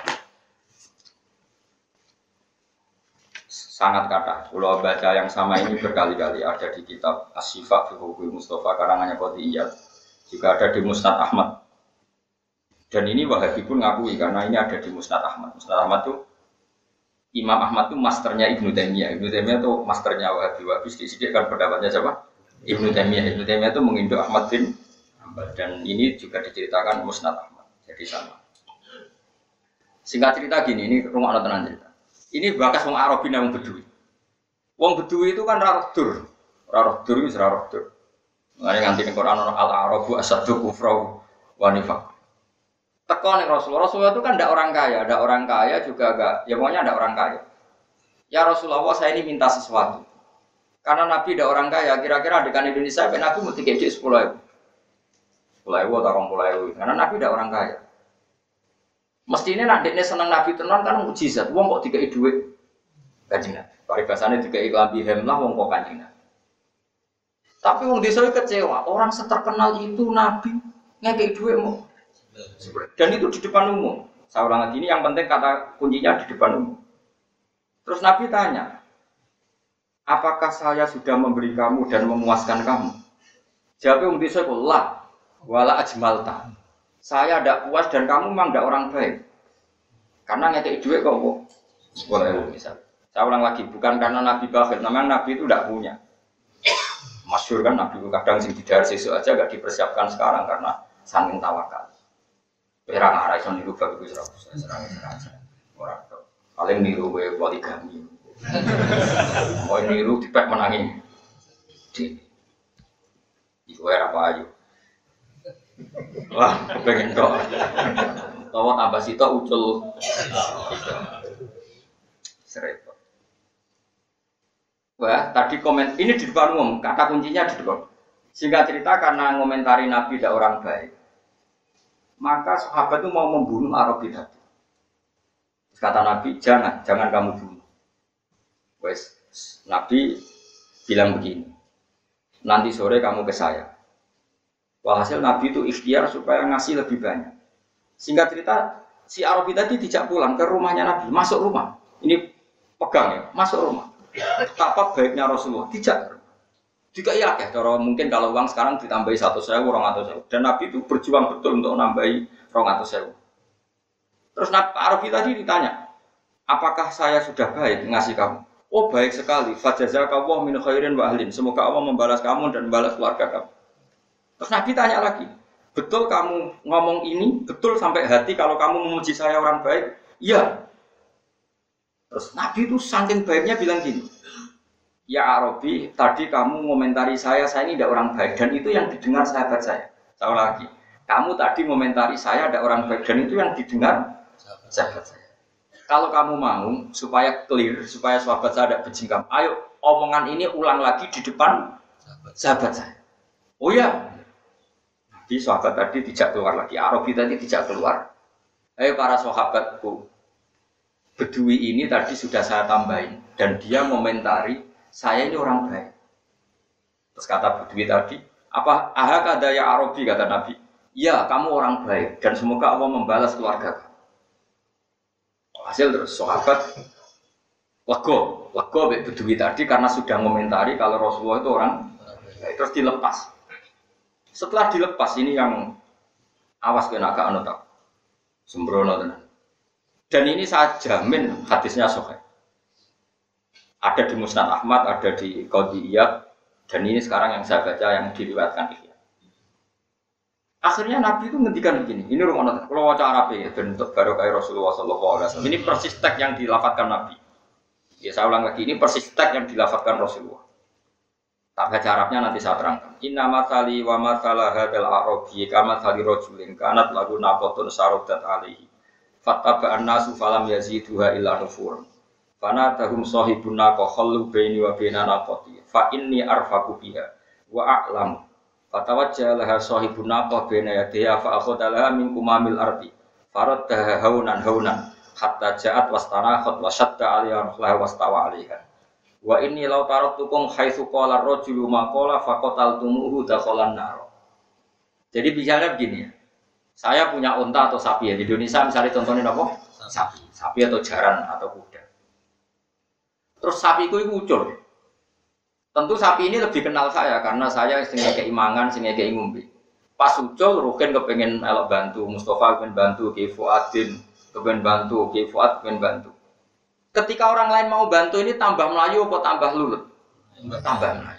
sangat kata. Kalau baca yang sama ini berkali-kali ada di kitab As-Syifa fi Hukmi Mustafa karangannya Qotiyah, juga ada di Musnad Ahmad. Dan ini Wahabi pun ngakui karena ini ada di Musnad Ahmad. Musnad Ahmad itu Imam Ahmad itu masternya Ibnu Taimiyah. Ibnu Taimiyah itu masternya Wahabi. Wahabi sedikit kan pendapatnya siapa? Ibnu Taimiyah. Ibnu Taimiyah itu menginduk Ahmad bin Hanbal. Dan ini juga diceritakan Musnad Ahmad. Jadi sama. Singkat cerita gini, ini rumah tenan cerita. Ini bakas wong Arabi nang Bedui. Wong Bedui itu kan raroh dur. Raroh dur itu raroh dur. Makanya nganti ning Quran ana al-arabu asaddu kufra wa nifaq. Teko ning Rasulullah. Rasulullah itu kan tidak orang kaya, ada orang kaya juga enggak, ya pokoknya ada orang kaya. Ya Rasulullah, saya ini minta sesuatu. Karena Nabi tidak orang kaya, kira-kira adegan Indonesia, Nabi mesti kejik sepuluh ribu. sepuluh ribu atau dua puluh ribu, karena Nabi tidak orang kaya. Mestinya nak dekne seneng Nabi tenan kan mukjizat. Wong kok dikai dhuwit. Kanjeng Nabi. Paribasane dikai lambi hemlah wong kok kanjeng Nabi. Tapi wong desa kecewa, orang seterkenal itu Nabi ngekei dhuwit mau. Dan itu di depan umum. Saya ulang lagi ini yang penting kata kuncinya di depan umum. Terus Nabi tanya, apakah saya sudah memberi kamu dan memuaskan kamu? Jawabnya umum desa lah, wala ajmalta. Saya tidak puas dan kamu memang tidak orang baik. Karena ngekei duit kok kok boleh misal. Saya ulang lagi, bukan karena Nabi bakhil, memang Nabi itu tidak punya. Masyhur kan Nabi itu kadang sing didar sesuk aja gak dipersiapkan sekarang karena saking tawakal. Perang arah iso niru bab iku serang-serang. Ora tok. Paling niru kowe poligami. Kowe niru dipek menangi. Di. Iku ora apa ayo. Wah, kepengen tok. utawa tambah sitok ucul. Serempet. Wah, tadi komen ini di depan umum, kata kuncinya di depan. Singkat cerita karena ngomentari Nabi tidak orang baik, maka sahabat itu mau membunuh Arabi tadi. Kata Nabi, jangan, jangan kamu bunuh. Wes, Nabi bilang begini, nanti sore kamu ke saya. Walhasil Nabi itu ikhtiar supaya ngasih lebih banyak. Singkat cerita, si Arabi tadi tidak pulang ke rumahnya Nabi, masuk rumah. Ini pegang ya, masuk rumah. Betapa baiknya Rasulullah, tidak. Juga iya ya, cara mungkin kalau uang sekarang ditambahi satu sewu, orang atau sewu. Dan Nabi itu berjuang betul untuk nambahi orang atau sewu. Terus Nabi Arabi tadi ditanya, apakah saya sudah baik ngasih kamu? Oh baik sekali. Fajazakallahu min khairin wa ahlin. Semoga Allah membalas kamu dan membalas keluarga kamu. Terus Nabi tanya lagi, betul kamu ngomong ini, betul sampai hati kalau kamu memuji saya orang baik? Iya. Terus Nabi itu saking baiknya bilang gini, ya Arabi, tadi kamu ngomentari saya, saya ini tidak orang baik, dan itu yang didengar sahabat saya. Saya lagi, kamu tadi ngomentari saya ada orang baik, dan itu yang didengar sahabat saya. Kalau kamu mau supaya clear, supaya sahabat saya tidak berjingkam, ayo omongan ini ulang lagi di depan sahabat saya. Oh ya, di sahabat tadi tidak keluar lagi, Arabi tadi tidak keluar. Ayo para sahabatku, Bedui ini tadi sudah saya tambahin, dan dia ngomentari saya ini orang baik. Terus kata Bedui tadi, apa ahak ada ya Arabi, kata Nabi. Ya, kamu orang baik dan semoga Allah membalas keluarga kamu. Hasil terus sahabat lego, lego Bedui tadi karena sudah ngomentari kalau Rasulullah itu orang baik. Terus dilepas. Setelah dilepas ini yang awas kena agak anu tak sembrono tenan. Dan ini saya jamin hadisnya sahih. Ada di Musnad Ahmad, ada di Qadiyat, dan ini sekarang yang saya baca yang diriwayatkan Ihya. Akhirnya Nabi itu ngendikan begini, ini rumah kalau wajah Arab ya, bentuk barokah Rasulullah Sallallahu Alaihi Wasallam. Ini persis teks yang dilafadzkan Nabi. Ya saya ulang lagi, ini persis teks yang dilafadzkan Rasulullah. Tak baca Arabnya nanti saya terangkan. Inna matsali wa matsalah hadzal arabi kama matsali rajulin kanat lagu naqatun sarodat alaihi. Fattaba'an nasu falam yaziduha illa nufuran. Fana tahum sahibun naqa khallu baini wa baina naqati fa inni arfaqu biha wa a'lamu fatawajjala laha sahibun naqa baina yadiha fa akhadha min kumamil ardi faraddaha haunan haunan hatta ja'at wastanakhat wa shadda 'alaiha rahlah wastawa 'alaiha wa inni law taraktukum haitsu qala ar-rajulu ma qala faqataltumuhu dakhalan nar. Jadi bicara begini ya. Saya punya unta atau sapi ya di Indonesia misalnya contohnya apa? Sapi, sapi atau jaran atau kuda. Terus sapiku itu ucul. Tentu sapi ini lebih kenal saya karena saya sehingga keimangan, sehingga keingumbi. Pas ucul, Rukin kepengen elok bantu, Mustafa kepengen bantu, Ki Fuadin kepengen bantu, Ki Fuad kepengen bantu. Ketika orang lain mau bantu ini tambah Melayu atau tambah lulut? Tambah Melayu.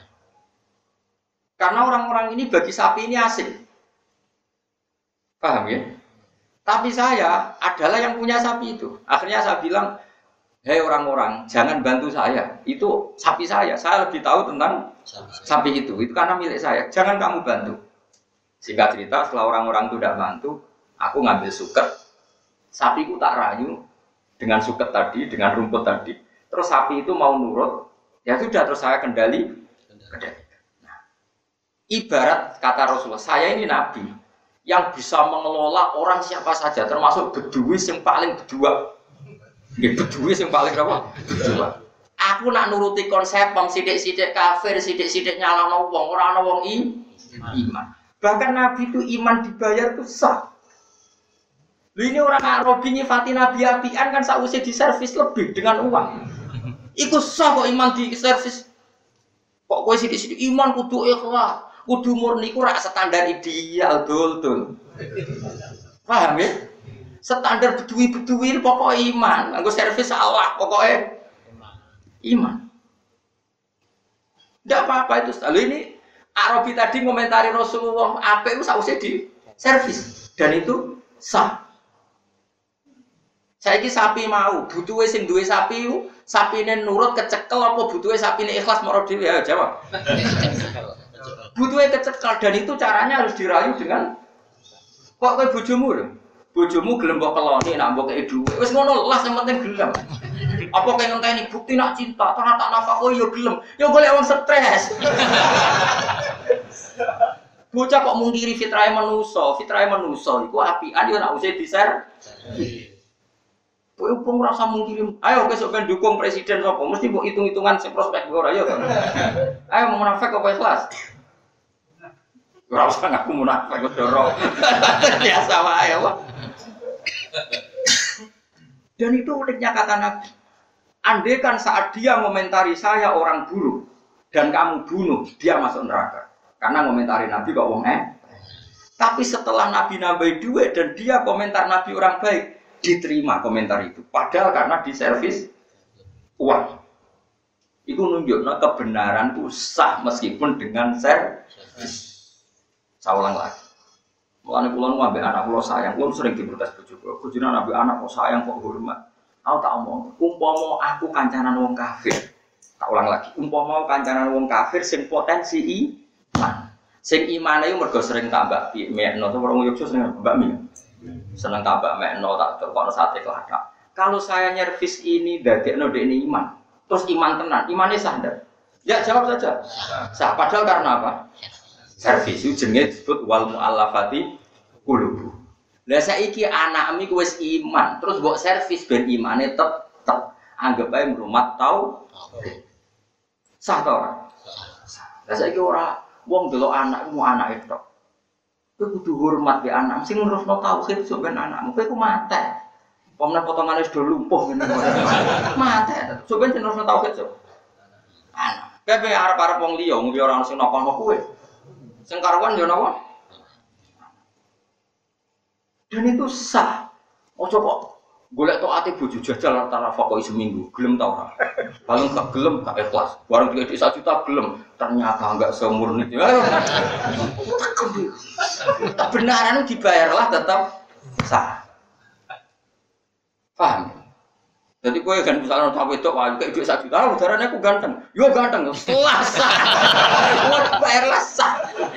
Karena orang-orang ini bagi sapi ini asing. Paham ya? Tapi saya adalah yang punya sapi itu. Akhirnya saya bilang, hei orang-orang, jangan bantu saya. Itu sapi saya. Saya lebih tahu tentang sapi itu. Itu karena milik saya. Jangan kamu bantu. Singkat cerita, setelah orang-orang itu tidak bantu, aku ngambil suket. Sapiku tak rayu dengan suket tadi, dengan rumput tadi. Terus sapi itu mau nurut. Ya sudah, terus saya kendali. kendali. Nah, ibarat kata Rasulullah, saya ini nabi yang bisa mengelola orang siapa saja, termasuk Bedui yang paling berdua. Ya, Bedui yang paling apa? Berdua. Aku nak nuruti konsep bang sidik-sidik kafir, sidik-sidik nyalahno wong, ora ana wong iman. Bahkan Nabi itu iman dibayar itu sah. Lu ini orang Arabi nyifati Nabi apian kan sausé diservis lebih dengan uang. Iku sah kok iman diservis. Kok kowe sidik-sidik iman kudu ikhlas. Kudu murni ku rak standar ideal dul-dul. Paham ya? Standar bedui-bedui pokok iman, nggo servis salah pokoknya iman. Enggak apa-apa itu. Lalu ini Arabi tadi komentari Rasulullah apa itu sausé di servis dan itu sah. Saiki sapi mau, butuhe sing duwe sapi ku, sapine nurut kecekel apa butuhe sapine ikhlas moro dhewe ya jawab. Butuhnya kecekel dan itu caranya harus dirayu dengan kok kowe bojomu lho. Bojomu gelem mbok keloni nak mbok kei dhuwit. Wis ngono lah sing penting gelem. Apa kaya ngenteni bukti nak cinta, ternyata tak nafkah kok yo gelem. Yo golek wong stres. Bocah kok mungkiri fitrahe manusa, fitrahe manusa iku apian yo nak usih diser. Kowe upung rasa mungkiri. Ayo besok ben dukung presiden sapa? Mesti mbok hitung-hitungan sing prospek ora yo. Ayo mau munafik apa ikhlas? Ora usah ngaku munafik kok dorong. Biasa wae apa. Dan itu uniknya kata Nabi. Andai kan saat dia komentari saya orang buruk dan kamu bunuh, dia masuk neraka. Karena komentari Nabi kok wong eh. Tapi setelah Nabi nambahi duit dan dia komentar Nabi orang baik, diterima komentar itu. Padahal karena diservis uang. Itu nunjuknya kebenaran itu sah meskipun dengan servis. Saya ulang lagi. Mulane kula nu ambek anak kula sayang, kula sering diprotes bojo kula. Bojone ambek anak kok sayang kok hormat. Aku tak omong, umpama aku kancanan wong kafir. Tak ulang lagi, umpama kancanan wong kafir sing potensi iman. Sing imane iku mergo sering tambah mekno, to wong Yogyakarta sering mbak mi. Seneng tambah mekno tak terkono sate keladak. Kalau saya nyervis ini dadekno dekne iman, terus iman tenan, imane sah ndak? Ya jawab saja. Sah. Padahal karena apa? Servis itu jenenge disebut wal mu'allafati qulubuh. Lah saiki anakmu ku wis iman, terus mbok servis ben imane tetep. Anggap ae mrumat tau. Sah ta ora? Sah. Lah saiki ora wong delok anakmu anake tok. Kowe kudu hormat be anak, sing nerusno tauhid sok ben anakmu. Kowe ku mate. Pomne potongane wis do lumpuh ngene. Mate. Sok ben nerusno tauhid sok. Anak. Kowe arep-arep wong liya, wong liya ora ono sing napa-napa kowe. Sing karuan yo napa? Dan itu sah. Ojo kok golek tok ati bojo jajal antara fakoi seminggu, gelem ta ora? Paling gak gelem gak ikhlas. Barang duit satu juta gelem, ternyata enggak semurni. Kebenaran dibayarlah tetap sah. Paham? Jadi kowe kan misalnya tak wedok wae kayak duit satu juta, udarane aku ganteng. Yo ganteng, setelah sah. Wong bayarlah sah.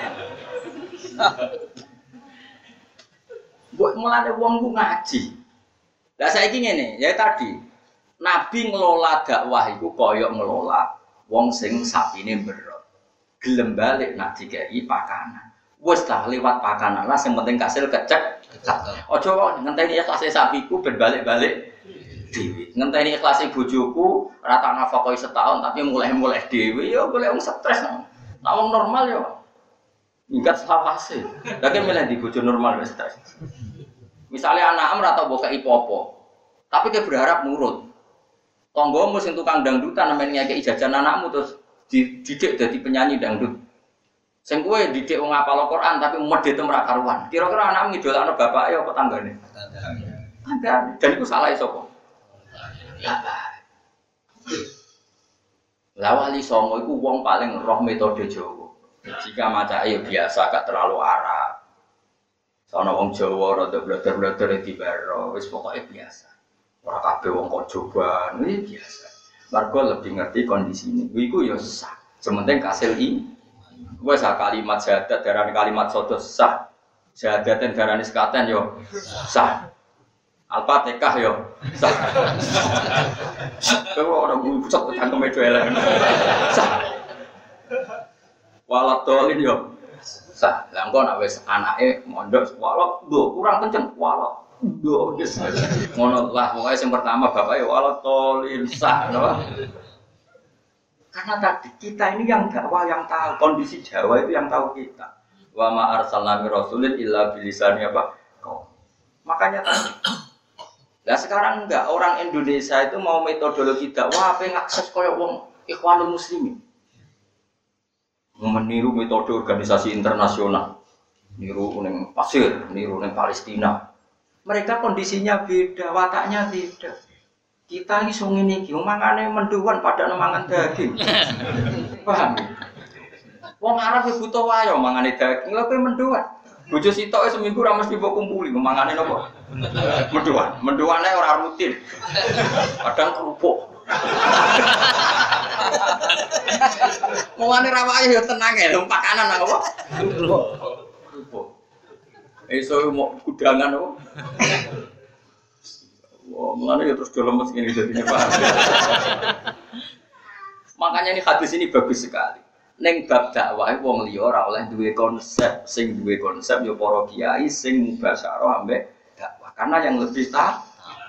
Buat mulane wong ku ngaji. Lah saiki ngene, ya tadi Nabi ngelola dakwah iku kaya ngelola wong sing sapine berot. Gelem balik nak dikai pakanan. Wis dah lewat pakanan lah sing penting kasil kecek. Aja kok ngenteni ikhlase sapiku ben balik-balik dhewe. Ngenteni ikhlase bojoku ora tak nafkahi setahun tapi mulai-mulai dhewe ya golek wong stres. Nek wong normal ya ingkat selawase. Lah kan milih di bojo normal wis stres. Misalnya anak ora tau mbok kei popo. Tapi dia berharap nurut. Tonggomu sing tukang dangdutan namanya ngekei jajan anakmu terus dididik dadi penyanyi dangdut. Sing kowe didik wong hafal Al-Qur'an tapi medhete ora karuan. Kira-kira anakmu ngidolakno bapake apa tanggane? Tanggane. Dan iku salahe sapa? Bapak. Lah wali songo iku wong paling roh metode Jawa. Jika maca ayo biasa gak terlalu arah. Sono wong Jawa rada bleder-bleder dibaro, wis pokoke biasa. Ora kabeh wong kok coba, ini biasa. Margo lebih ngerti kondisine. Iku ya sah. Sementing kasil i. Wis kalimat syahadat darane kalimat sodo sah. Syahadaten darane sekaten yo sah. Al-Fatihah yo sah. Kowe ora bucok cangkeme elek. Sah. Walat dolin yo sah. Lah engko nek wis anake mondok walat lho kurang kenceng walat lho wis ngono lah pokoke sing pertama bapake walat dolin sah napa. Karena tadi kita ini yang dakwah yang tahu kondisi Jawa itu yang tahu kita. Wa ma arsalna mir rasulin illa bilisani apa? Kau. Makanya tadi. Lah sekarang enggak orang Indonesia itu mau metodologi dakwah apa ngakses koyo wong Ikhwanul Muslimin. Meniru metode organisasi internasional, niru neng pasir, niru neng Palestina. Mereka kondisinya beda, wataknya beda. Kita ini sung ini, mangane menduan pada mangan daging. Paham? Wong Arab butuh wayo mangane daging, lha kowe menduan. Bojo sitok seminggu ra mesti mbok kumpuli, mangane napa? Menduan. Menduane ora rutin. Kadang kerupuk. Mulane rawake ya tenang ya, lho pakanan apa? Kerupuk. Iso mau kudangan apa? Wah, mulane ya terus do lemes ngene jadinya Pak. Makanya ini hadis ini bagus sekali. Neng bab dakwah wong liya ora oleh duwe konsep, sing duwe konsep ya para kiai sing mubasyarah ambek dakwah. Karena yang lebih tahu.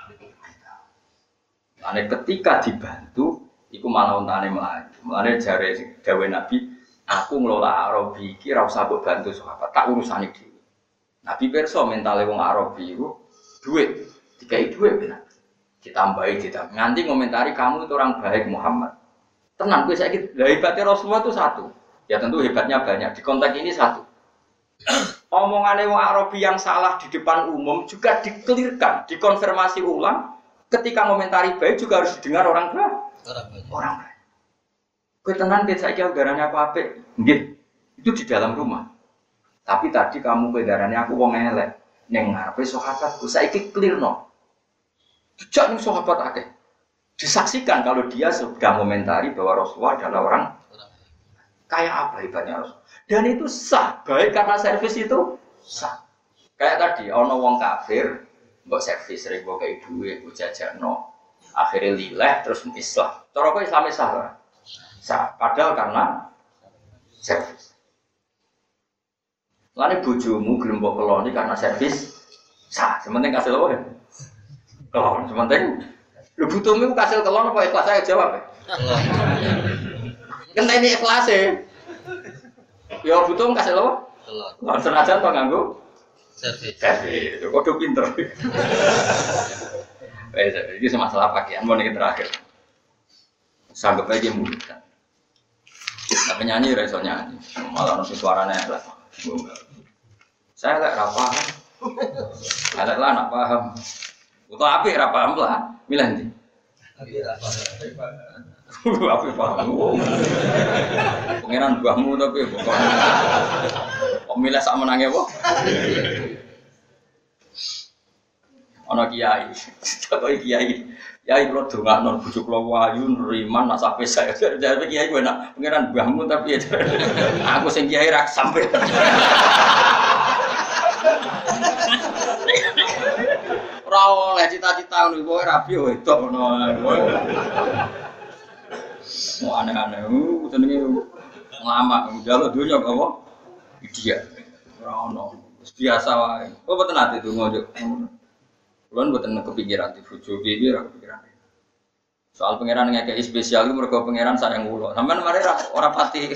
Ane ketika dibantu iku malah untane mlayu. Mulane jare dawuh Nabi, aku ngelola Arabi iki ora usah mbok bantu sahabat, tak urusane dhewe. Nabi pirsa mentale wong Arabi iku duit, dikai duit benar. Ditambahi ditambah. Nganti ngomentari kamu itu orang baik Muhammad. Tenang, gue sakit. Hebatnya Rasulullah itu satu. Ya tentu hebatnya banyak. Di konteks ini satu. Omongannya wong Arabi yang salah di depan umum juga dikelirkan, dikonfirmasi ulang. Ketika komentari baik juga harus didengar orang baik. Orang baik. Orang baik. Gue tenang, gue sakit udaranya apa-apa. Nggih. Itu di dalam rumah. Tapi tadi kamu udaranya aku wong elek. Neng ngarepe sahabat, gue sakit clear no. Jejak nih sahabat akeh. Disaksikan kalau dia sudah komentari bahwa Rasulullah adalah orang kayak apa hebatnya Rasul. Dan itu sah, baik karena servis itu sah. Kayak tadi, ono wong kafir, mbok servis sering mbok kayak duit, mbok jajakno, akhirnya lileh terus Islam. Cara kok Islam sah ora? Sah, padahal karena servis. Lane bojomu gelem mbok keloni karena servis sah. Sementing kasih loh ya. Kelon, sementing lu butuhmu kasih kelon apa ikhlas saya jawab ya? Kan ini ikhlas ya. Ya butuh kasih lo. Kelon senajan to nganggo servis. Servis. Kok do pinter. Wes iki masalah pakaian mau niki terakhir. Sanggup aja murid kan. Tapi nyanyi ra iso nyanyi. Malah ono suarane elek. Saya lek ra paham. Elek lah nak paham. Untuk apik ra paham lah. Milih ndi? Apik ra paham. Apik paham. Pengenan mbahmu tapi kok. Kok milih sak menange apa? Ana kiai. Kok kiai. Kiai kula dongakno bojo kula wayu nriman nak sampe saya. Jadi kiai kowe nak pengenan mbahmu tapi aku sing kiai ra sampe. Ora oleh cita-cita ngono kowe rapi wedok ngono. Mau aneh-aneh, uh, jenenge nglamak, njaluk donya apa? Dia. Ora ono. Wis biasa wae. Kok mboten ate donga yo. Kulo mboten kepikiran di bojo piye ora kepikiran. Soal pangeran ngekeki spesial iku mergo pangeran sayang kula. Sampeyan mari ora pati.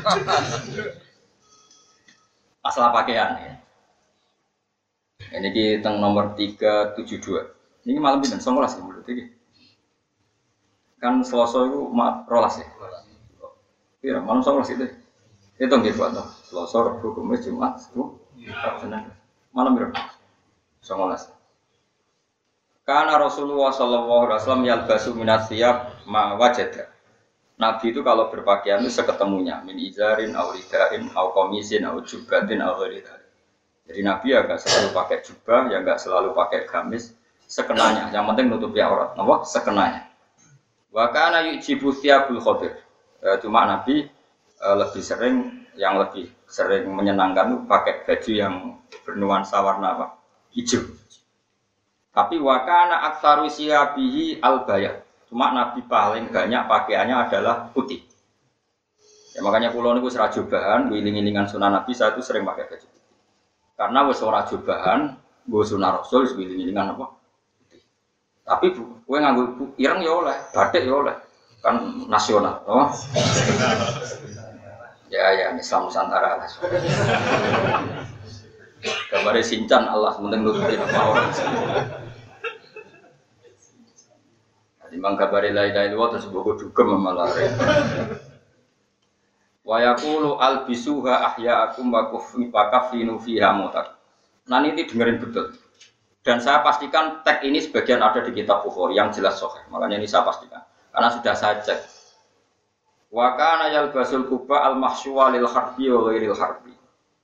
Masalah pakaian ya. Ini kita nomor tiga tujuh dua. Ini malam ini sembilan belas ya menurut ini. Kan Selasa itu rolas ya. Iya malam sembilan belas itu. Itu nggih buat toh. Selasa, Rabu, Kamis, Jumat, Sabtu, Senin. Malam berapa? sembilan belas. Karena Rasulullah Shallallahu Alaihi Wasallam yalbasu minat siap ma wajada. Nabi itu kalau berpakaian itu seketemunya min izarin, auridain, au komisin, au jubatin, au ghairidah. Jadi Nabi ya nggak selalu pakai jubah, ya nggak selalu pakai gamis, sekenanya. Yang penting nutupi aurat, apa? Sekenanya. Wakana yujibu thiyabul khadir. E, cuma Nabi e, lebih sering, yang lebih sering menyenangkan itu pakai baju yang bernuansa warna apa? Hijau. Tapi wakana aktsaru siyabihi al-bayat. Cuma Nabi paling banyak pakaiannya adalah putih. Ya makanya kula niku ora jubahan, wiling-wilingan sunah Nabi saya itu sering pakai baju. Karena wis ora jubahan, nggo sunah Rasul wis wiling-wilingan apa? Tapi kowe nganggo ireng ya oleh, batik ya oleh. Kan nasional, oh. Ya ya Islam Nusantara lah. Gambar Sincan Allah penting nutupi apa orang. Timbang kabare la ilaha illallah terus bogo dugem malah. Wa yaqulu albisuha ahya'akum wa kafinu fiha mutak. Nah ini dengerin betul. Dan saya pastikan tag ini sebagian ada di kitab Bukhari yang jelas sahih. Makanya ini saya pastikan karena sudah saya cek. Wa kana yalbasul quba al-mahsyuwa lil harbi wa ghairil harbi.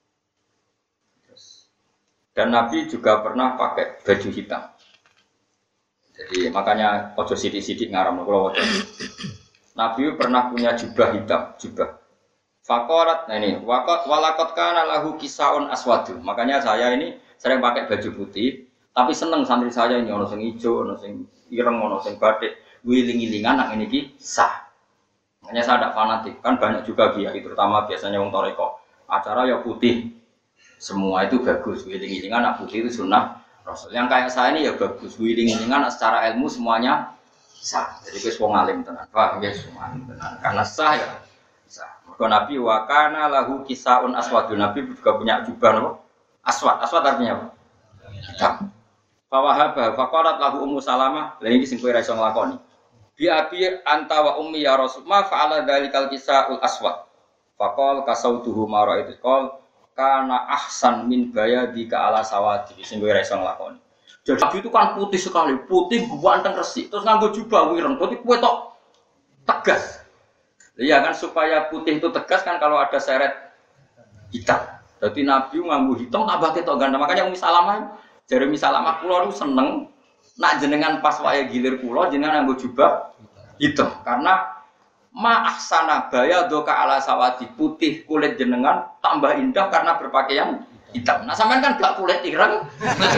Dan Nabi juga pernah pakai baju hitam. Jadi makanya ojo sidik-sidik ngaram kalau ojo. Nabi pernah punya jubah hitam, jubah. Fakorat, nah ini, wakot walakot kana lahu kisaun aswadu. Makanya saya ini sering pakai baju putih, Tapi seneng santri saya ini ono sing ijo, ono sing ireng, ono sing batik, wiling-wilingan nak ini ki sah. Hanya saya tidak fanatik, kan banyak juga kiai, terutama biasanya wong toreko. Acara ya putih, semua itu bagus. Wiling-wilingan nak putih itu sunnah Rasul. Yang kayak saya ini ya bagus, wiling-wilingan secara ilmu semuanya sah. Jadi wis wong alim tenan. Paham ya semua tenan. Karena sah ya sah. Maka Nabi wa kana lahu kisaun aswadun. Nabi juga punya jubah apa? Aswad. Aswad artinya apa? Hitam. Fa wahaba faqalat lahu Ummu Salamah, lha iki sing kowe ra iso nglakoni. Bi abi anta wa ummi ya Rasul, ma fa'ala dzalikal kisaul aswad. Faqal kasautuhu ma ra'aitu qol kana ahsan min bayadi ka ala sawati. Sing kowe ra iso nglakoni. Jadi Nabi itu kan putih sekali, putih ganteng resik. Terus nganggo jubah wireng, berarti kowe tok tegas. Iya kan supaya putih itu tegas kan kalau ada seret hitam. Jadi Nabi nganggo hitam tambah ketok ganteng. Makanya Ummi Salamah jare Ummi Salamah kula niku seneng nak jenengan pas wae gilir kula jenengan nganggo jubah hitam karena ma ahsana bayadoka ala sawati, putih kulit jenengan tambah indah karena berpakaian hitam. Nah sampean kan gak kulit ireng.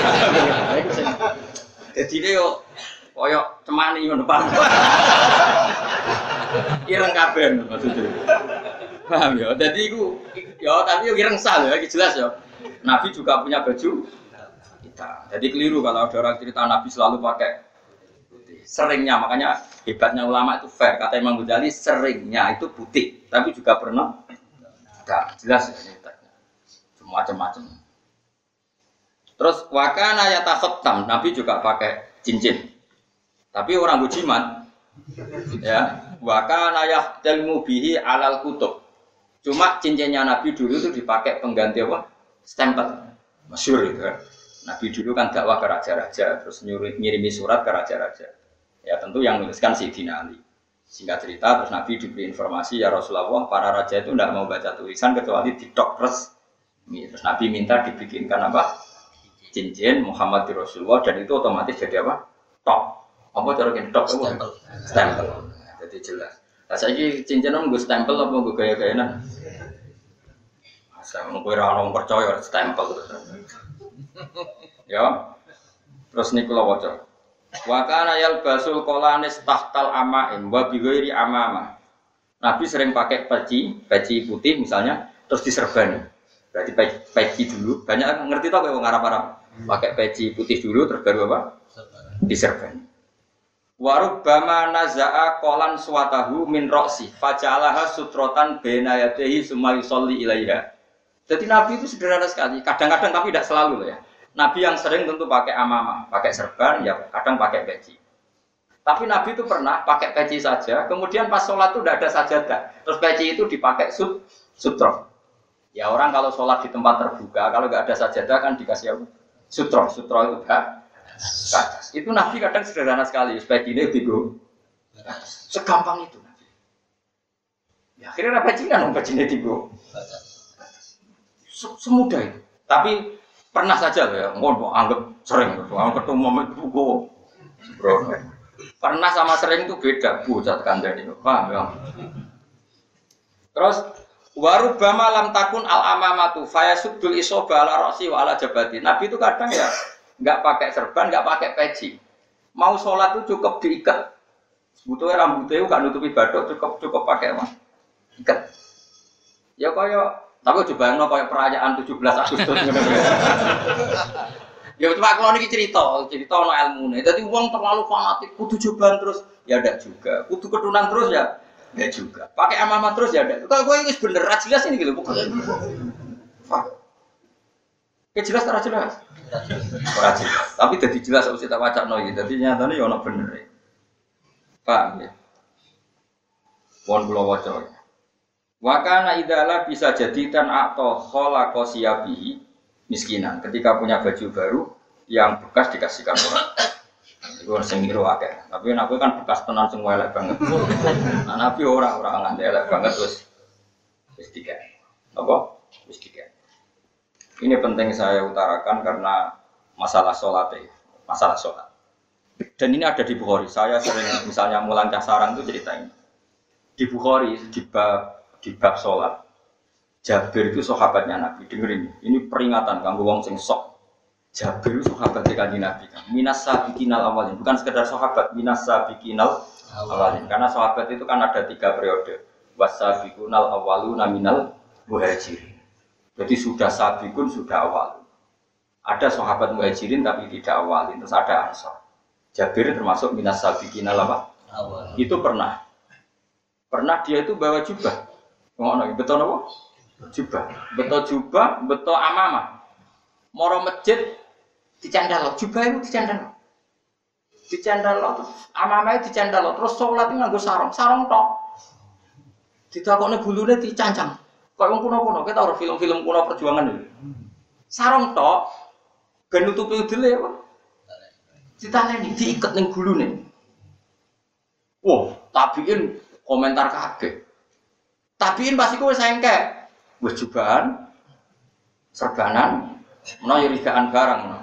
Jadi dia yo koyo cemani ngono Pak. Ireng kabeh maksudnya. Paham ya? Jadi iku ya tapi yo ireng sah ya, jelas ya. Nabi juga punya baju hitam. Jadi keliru kalau ada orang cerita Nabi selalu pakai putih. Seringnya, makanya hebatnya ulama itu fair. Kata Imam Ghazali seringnya itu putih, tapi juga pernah hitam. Jelas ya ini. Macam-macam. Terus wakana yatakhattam, Nabi juga pakai cincin. Tapi orang bujimat ya, wakana yahtalmu bihi alal kutub. Cuma cincinnya Nabi dulu itu dipakai pengganti apa? Stempel. Masyhur itu kan. Nabi dulu kan dakwah ke raja-raja, terus nyuruh ngirimi surat ke raja-raja. Ya tentu yang menuliskan Sayyidina Ali. Singkat cerita, terus Nabi diberi informasi ya Rasulullah, para raja itu tidak mau baca tulisan kecuali didok res. Terus Nabi minta dibikinkan apa? Cincin Muhammad di Rasulullah dan itu otomatis jadi apa? Top. Apa cara kita top? Stempel. Stempel. Jadi jelas. Nah, saya ini cincin om gue stempel apa gue gaya-gayaan? Saya mau gue orang percaya stempel terus. Ya. Terus nih kalau wajah. Wakana yal basul kolanis tahtal amaim wa bighairi amama. Nabi sering pakai peci, peci putih misalnya, terus diserbani. Berarti peci dulu, banyak ngerti tau kayak orang Arab-Arab pakai peci putih dulu, terus baru apa? Diserbani. Warubbama naza'a qolan suwatahu min roksi faja'alaha sutrotan bena yadehi summa yusolli ilaiha. Jadi Nabi itu sederhana sekali, kadang-kadang tapi tidak selalu ya. Nabi yang sering tentu pakai amamah, pakai serban, ya kadang pakai peci. Tapi Nabi itu pernah pakai peci saja, kemudian pas sholat itu tidak ada sajadah, terus peci itu dipakai sut, sutro. Ya orang kalau sholat di tempat terbuka, kalau nggak ada sajadah kan dikasih apa? Sutro, sutro itu enggak. Itu Nabi kadang sederhana sekali, supaya gini digo. Segampang itu Nabi. Ya akhirnya apa cinan om peci ini digo. Semudah itu. Tapi pernah saja ya, mau anggap sering, anggap ketemu momen itu go. Pernah sama sering itu beda, bucat kandang itu, paham ya? Terus warubama lam takun al amamatu fayasubdul isoba ala rosi wa ala jabati. Nabi itu kadang ya nggak pakai serban, nggak pakai peci. Mau sholat itu cukup diikat. Butuhnya rambutnya nggak nutupi badok, cukup cukup pakai apa? Ikat. Ya kaya, tapi coba yang kaya perayaan tujuh belas Agustus. Ya cuma kalau ini cerita, cerita no ilmu nih. Jadi uang terlalu fanatik, kudu cobaan terus, ya ada juga. Kudu ketunan terus ya. Ya juga. Pakai amama terus ya ada. Kalau gue ini bener jelas ini gitu bukan. Kayak jelas terus jelas. Ora jelas. Tapi jadi jelas harus kita baca noy. Jadi nyatanya ya ono bener. Paham ya? Pon kula waca. Wa kana idala bisa jadi tan atau khalaqa siyabihi miskinan. Ketika punya baju baru yang bekas dikasihkan orang. Itu sing ngiru akeh. Tapi nek kan bekas tenan sing elek banget. Nah, Nabi ora ora nganti elek banget terus wis tiga. Apa? Wis tiga. Ini penting saya utarakan karena masalah salat ya, masalah salat. Dan ini ada di Bukhari. Saya sering misalnya mulang Sarang itu ceritain. Di Bukhari di bab di bab salat. Jabir itu sahabatnya Nabi. Dengerin, ini peringatan kanggo wong sing sok. Jabir itu sahabat Kanjeng Nabi kan. Minas sabiqinal awalin, bukan sekedar sahabat, minas sabiqinal awalin. Karena sahabat itu kan ada tiga periode. Wasabiqunal awaluna minal muhajirin. Jadi sudah sabiqun sudah awal. Ada sahabat muhajirin tapi tidak awalin, terus ada ansor. Jabir termasuk minas sabiqinal apa? Awal. Itu pernah. Pernah dia itu bawa jubah. Ngono, betul apa? Jubah. Betul jubah, betul amamah. Moro masjid dicandal, jubah itu dicandal. Dicandal terus amamah dicandal terus salat nganggo sarung, sarung tok. Ditakokne gulune dicancang. Kok wong kuno-kuno, kita ora film-film kuno perjuangan lho. Sarung tok ben nutupi udele apa? Ditaleni diiket ning gulune. Wah, tabiin komentar kabeh. Tabiin pasti kowe sengkek. Wis jubahan serbanan menawa rigaan barang menawa.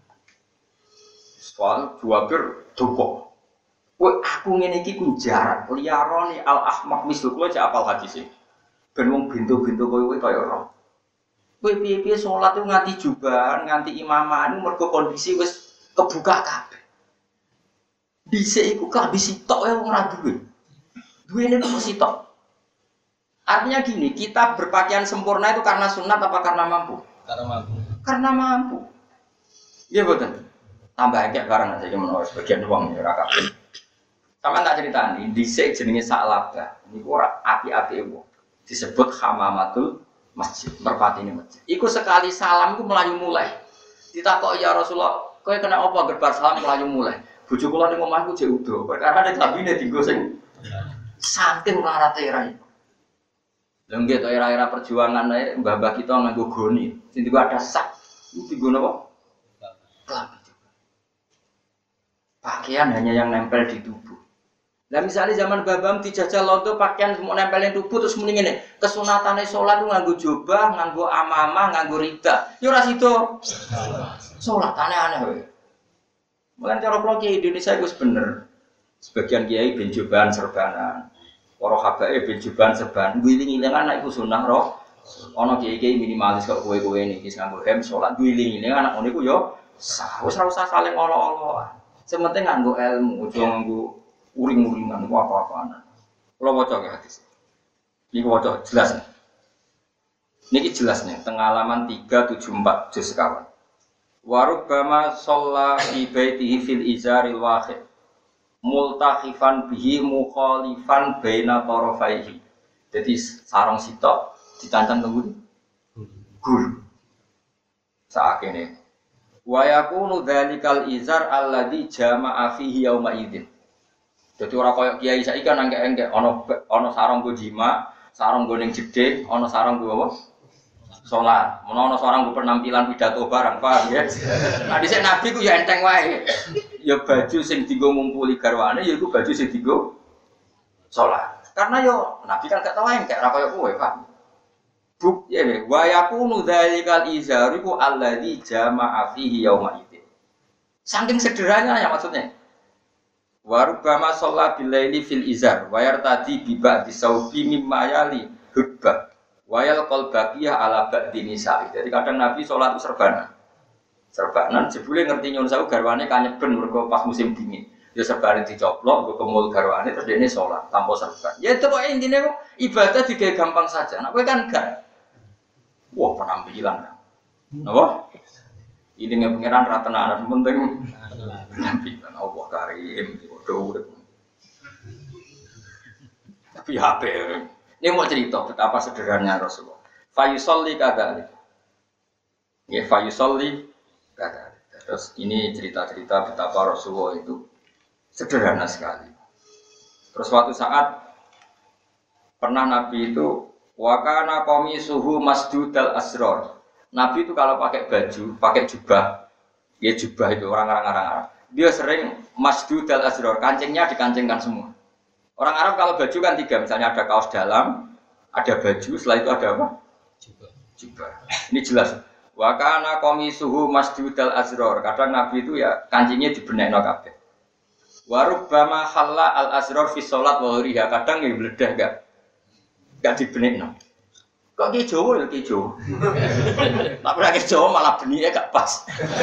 Soal Jabir duka. Kowe aku ngene iki ku jarak liyarone al ahmaq mislu kowe cek apal hadis e. Ben wong bintu-bintu kowe kowe kaya ora. Kowe piye-piye salat itu nganti jubahan, nganti imaman mergo kondisi wis kebuka kabeh. Dhisik iku kabeh sitok wae wong ora duwe. Duwene kok sitok. Artinya gini, kita berpakaian sempurna itu karena sunat apa karena mampu? Karena mampu. Karena mampu. Iya betul. Tambah kayak barang aja menurut sebagian uang ya rakabin. Sama tak cerita nih, dhisik jenenge Sa'labah. Niku ora api-api wong. Disebut hamamatul masjid, merpatine masjid. Iku sekali salam iku melayu mulai. Ditakok ya Rasulullah, kowe kena apa gerbar salam melayu mulai? Bojo kula ning omahku jek udo, perkara nek labine dienggo sing saking larate ra iku. Lha nggih to era-era perjuangan ae mbah-mbah kita nganggo goni. Sing diku ada sak. Iku dienggo napa? Klambi. Pakaian hanya yang nempel di tubuh. Nah misalnya zaman babam dijajal londo pakaian semua nempelin tubuh terus muni ngene, kesunatane salat ku nganggo jubah, nganggo amamah, nganggo rida. Ya ora sida. Salat aneh-aneh wae. Mulane cara kula kiai Indonesia iku wis bener. Sebagian kiai ben jubahan serbanan. Para habae ben jubahan serban. Wiling-wiling anak iku sunah roh. Ana kiai-kiai minimalis kok kowe-kowe niki nganggo hem salat wiling-wiling anak ngono iku ya sah. Wis ora usah saling olo-oloan. Sementing nganggo ilmu, aja nganggo uring-uringan apa-apaan. Kalau waca ke hadis. Niki waca jelas. Niki jelas nih, tengah halaman tiga tujuh empat juz sekawan. Warubbama shalla fi baitihi fil izaril wahid. Multakhifan bihi mukhalifan baina tarafaihi. Jadi sarung sitok dicancang tenggu gul. Saakene. Wa yakunu dzalikal izar alladzi jama'a fihi yauma idzin. Dadi ora koyo kiai saiki kan engke-engke ana ana sarung go jima, sarung go ning jedhe, ana sarung go apa? Salat. Menawa ana sarung go penampilan pidato barang, paham ya? Nah dhisik nabi ku ya enteng wae. Ya baju sing dienggo ngumpuli garwane ya iku baju sing dienggo salat. Karena yo nabi kan gak tau engke ora koyo kowe, Pak. Buk ya ne wa yakunu dzalikal izar iku alladzi jama'a fihi yauma idzin. Saking sederhananya ya maksudnya. Warubama sholat bilaili fil izar wayar tadi biba disaubi mimma yali hubba wayal kol bakiyah ala ba'di nisa'i. Jadi kadang Nabi sholat itu serbanan serbanan jebule ngerti nyun sawu garwane kanyeben mergo pas musim dingin ya serbanan dicoplok go kemul garwane terus dene sholat tanpa serban. Ya itu kok intine kok ibadah digawe gampang saja. Nek kowe kan gak wah penampilan kan. Napa? Ini ngepengiran rata-rata penting penampilan Allah karim. Tapi H P ini mau cerita betapa sederhananya Rasulullah. Fayusolli kadali, ya fayusolli kadali. Terus ini cerita-cerita betapa Rasulullah itu sederhana sekali. Terus suatu saat pernah Nabi itu wakana qamisuhu masdudal asrar. Nabi itu kalau pakai baju, pakai jubah, ya jubah itu orang-orang Arab. Dia sering masdudal asrar, kancingnya dikancingkan semua. Orang Arab kalau baju kan tiga, misalnya ada kaos dalam, ada baju, setelah itu ada apa? Jubah. Jubah. Ini jelas. Wa kana qamisuhu masdudal asrar. Kadang Nabi itu ya kancingnya dibenekno kabeh. Wa rubbama halla al asrar fi shalat wa ghiriha. Kadang ya bledah enggak. Enggak dibenekno. Kok ki Jawa ya ki Jawa. Tapi lagi Jawa malah benihnya gak pas.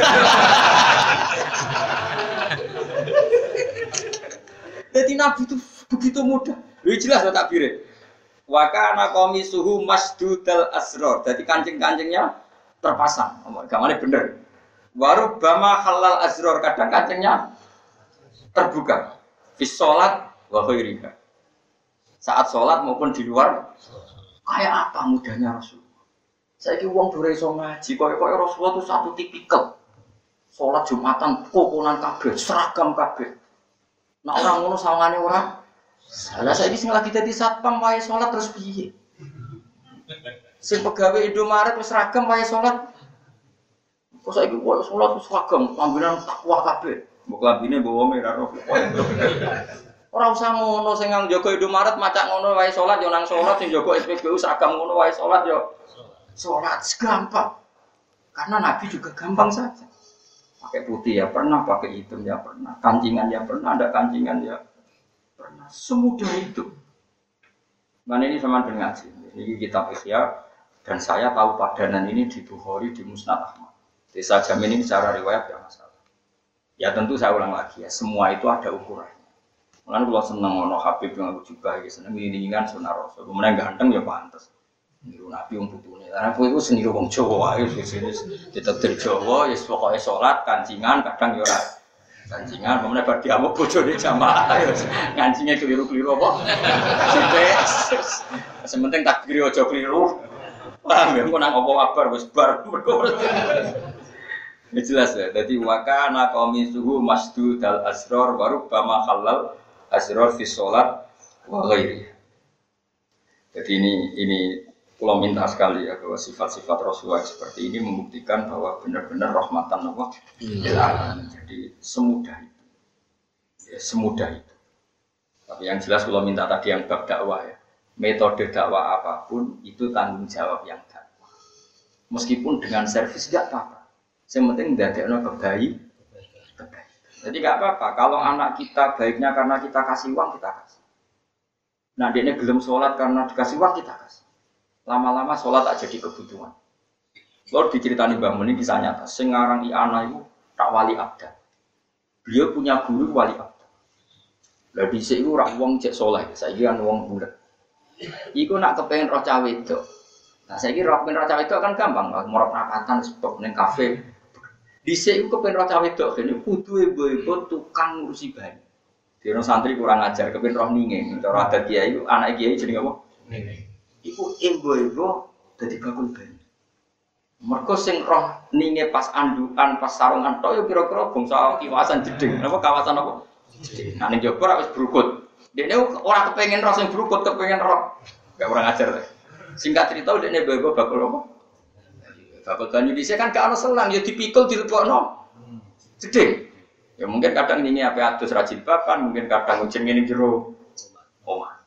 Jadi Nabi itu begitu mudah. Lu jelas tak takbire. Wa kana qamisuhu masdudal asrar. Jadi kancing-kancingnya terpasang. Gamane bener. Waru bama halal asrar, kadang kancingnya terbuka. Fi sholat wa ghairiha. Saat sholat maupun di luar. Kayak apa mudahnya Rasulullah. Saiki wong dure iso ngaji koyo-koyo Rasulullah itu satu tipikal. Sholat Jumatan kokonan kabeh, seragam kabeh. Nah orang ngono sawangane ora. Lah saiki sing lagi dadi satpam wae sholat terus piye? Sing pegawe Indomaret wis seragam wae sholat. Kok saiki wae sholat wis seragam, lambinan takwa kabeh. Mbok lambine bawa merah roh. Ora usah ngono sing nang jaga Indomaret macak ngono wae salat yo nang salat sing jaga S P B U seragam ngono wae salat yo salat gampang. Karena Nabi juga gampang saja. Pakai putih ya pernah, pakai hitam ya pernah, kancingan ya pernah, ada kancingan ya pernah. Semudah itu. Nah ini sama dengan ngaji. Ini kitab Ihya dan saya tahu padanan ini di Bukhari di Musnad Ahmad. Jadi saya jamin ini secara riwayat ya masalah. Ya tentu saya ulang lagi ya, semua itu ada ukuran. Mulane kula seneng ana Habib yang aku juga iki seneng ngiringan sunah Rasul. Kemudian ganteng ya pantes. Niru Nabi wong putune. Lah aku iku seniru wong Jawa wae wis ditetir Jawa, ya pokoke salat kancingan kadang ya ora kancingan, kemudian bar diamuk bojone jamaah ya ngancinge keliru-keliru apa. Sithik. Sementing takbir aja keliru. Paham ya kok nang apa kabar wis bar. Ini jelas ya. Jadi wakana qamisuhu masdudal asrar wa rubbama halal asrar fi sholat wa ghairi. Jadi ini ini kalau minta sekali ya bahwa sifat-sifat Rasulullah seperti ini membuktikan bahwa benar-benar rahmatan Allah lil alamin. Jadi semudah itu. Ya, semudah itu. Tapi yang jelas kalau minta tadi yang bab dakwah ya, metode dakwah apapun itu tanggung jawab yang dakwah. Meskipun dengan servis enggak apa-apa. Yang penting ndadekno kebaik. Kebaik. Jadi enggak apa-apa kalau anak kita baiknya karena kita kasih uang kita kasih. Nah, dia gelem sholat karena dikasih uang kita kasih. Lama-lama sholat tak jadi kebutuhan. Kalau diceritani Mbah Mun ini kisah nyata. Sing aran Iana itu tak wali abda. Beliau punya guru wali abda. Lah dhisik iku ora wong cek saleh, saiki kan wong bulet. Iku nak kepengin roh cah wedok. Nah saiki roh kepengin roh cah wedok kan gampang, morop rapatan sebab ning kafe. Dhisik iku kepengin roh cah wedok kene kudu ibu-ibu tukang ngurusi bayi. Dene santri kurang ajar kepengin roh ninge. Cara adat kiai iku anak kiai jenenge apa? Ninge. Iku ibu-ibu dadi bakul bayi. Mergo sing roh ninge pas andukan, pas sarungan tok yo kira-kira bangsa kiwasan jeding. Apa kawasan apa? Jeding. Nah ning jaba ora wis brukut. Dene ora kepengin roh sing brukut, kepengin roh. Enggak kurang ajar ta. Singkat cerita dene ibu-ibu bakul apa? Bakul banyu dhisik kan gak ono selang ya dipikul dilebokno. Jeding. Ya mungkin kadang ninge ape adus ra jilbaban, mungkin kadang ujen ngene jero omah.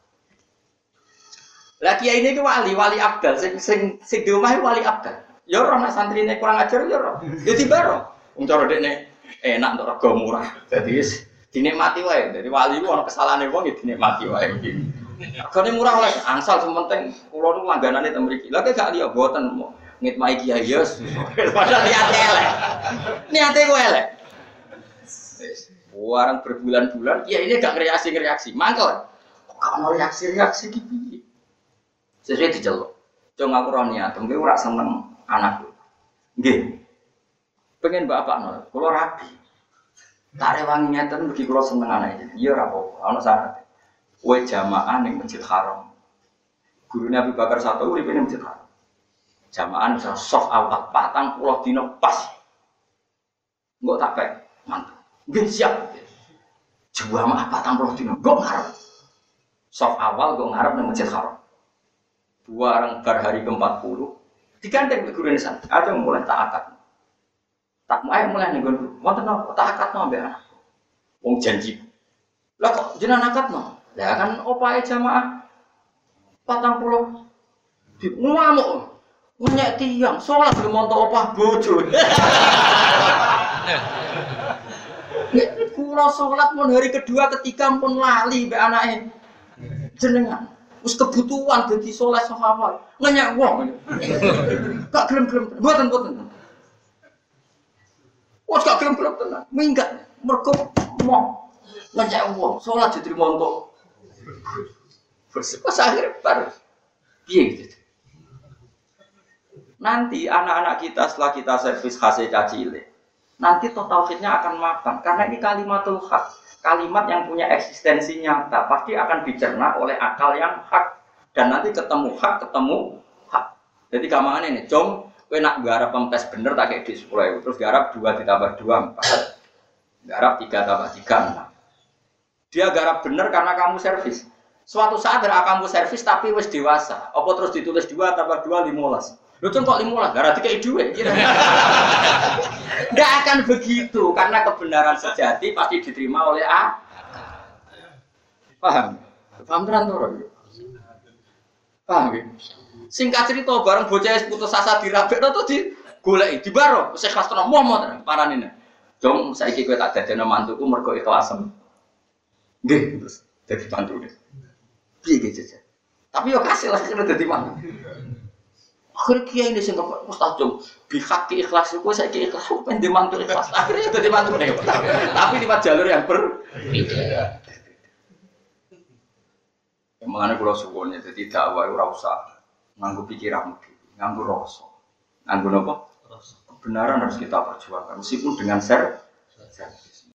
Lah kiai ini ku wali, wali abdal, sing sing sing di omah wali abdal. Ya ora nek santrine kurang ajar ya ora. Ya dibaro. Wong cara dekne enak untuk rega murah. Dadi wis dinikmati wae. Dadi wali ku ana kesalahane wong ya dinikmati wae. Regane murah oleh angsal sementing kula niku langganane teng mriki. Lah kok gak liya mboten ngitmai kiai ya. Padahal niate elek. Niate ku elek. Wis warang berbulan-bulan kiai ini gak reaksi-reaksi. Mangkel. Kok ono reaksi-reaksi iki piye? Sesuai diceluk. Cung aku ora niat, mengke ora seneng anakku. Nggih. Pengen bapak nol, kula rabi. Tak rewangi ngeten mugi kula seneng anake. Iya ora apa-apa, ana syarat. Kowe jamaah ning Masjid Haram. Gurune Abu Bakar satu uripe ning Masjid Haram. Jamaah bisa soft awal patang puluh dino pas. Engko tak pek, mantap. Nggih siap. Jamaah patang puluh dino, kok ngarep. Soft awal kok ngarep ning Masjid Haram. Dua orang bar hari ke empat puluh digandeng ke guru nisan ada yang mulai tak akad tak mau mulai nih guru wonten apa tak akad no ambek anak wong janji lah kok jenengan akad no lah kan opae jamaah patang puluh di ngamuk nyek tiang sholat belum montok opah bojo kula sholat pun hari kedua ketiga pun lali mbek anake jenengan Wis kebutuhan dadi saleh sahabat. Ngenyek wong. Gak gelem-gelem. Mboten-mboten. Wes gak gelem-gelem tenan. Minggat mergo mau ngenyek wong. Salat diterima untuk pas akhir bar. Piye gitu. Nanti anak-anak kita setelah kita servis khase cacile, nanti total tauhidnya akan makan karena ini kalimatul hak, kalimat yang punya eksistensi nyata pasti akan dicerna oleh akal yang hak dan nanti ketemu hak ketemu hak. Jadi gampangane ini, jom, kowe nak garap pempes bener tak kayak di sepuluh ribu, terus garap dua ditambah dua empat, garap tiga tambah tiga enam. Dia garap bener karena kamu servis. Suatu saat ada kamu servis tapi wis dewasa, apa terus ditulis dua tambah dua lima belas. Lu tuh kok lima lah, gara tiga duit. Nggak akan begitu, karena kebenaran sejati pasti diterima oleh A. Paham? Paham tenan tuh? Paham ya? Singkat cerita, bareng bocah putus asa dirabek, tuh di golek di baro, saya kelas tenan momo tenan paranine. Jom saiki kowe tak dadekno mantuku mergo ikhlasen. Nggih, terus dadi mantune. Piye gitu aja. Tapi yo kasih lah kena dadi mantu. Akhirnya kiai ini sing kok mustajab bihaki ikhlas itu saya ki ikhlas pengen dimantu ikhlas akhirnya jadi mantu nih tapi di jalur yang berbeda. Mengenai pulau suwonnya jadi dakwah ora usah nganggo pikiran, nganggo rasa, nganggo apa? Kebenaran harus kita perjuangkan meskipun dengan ser.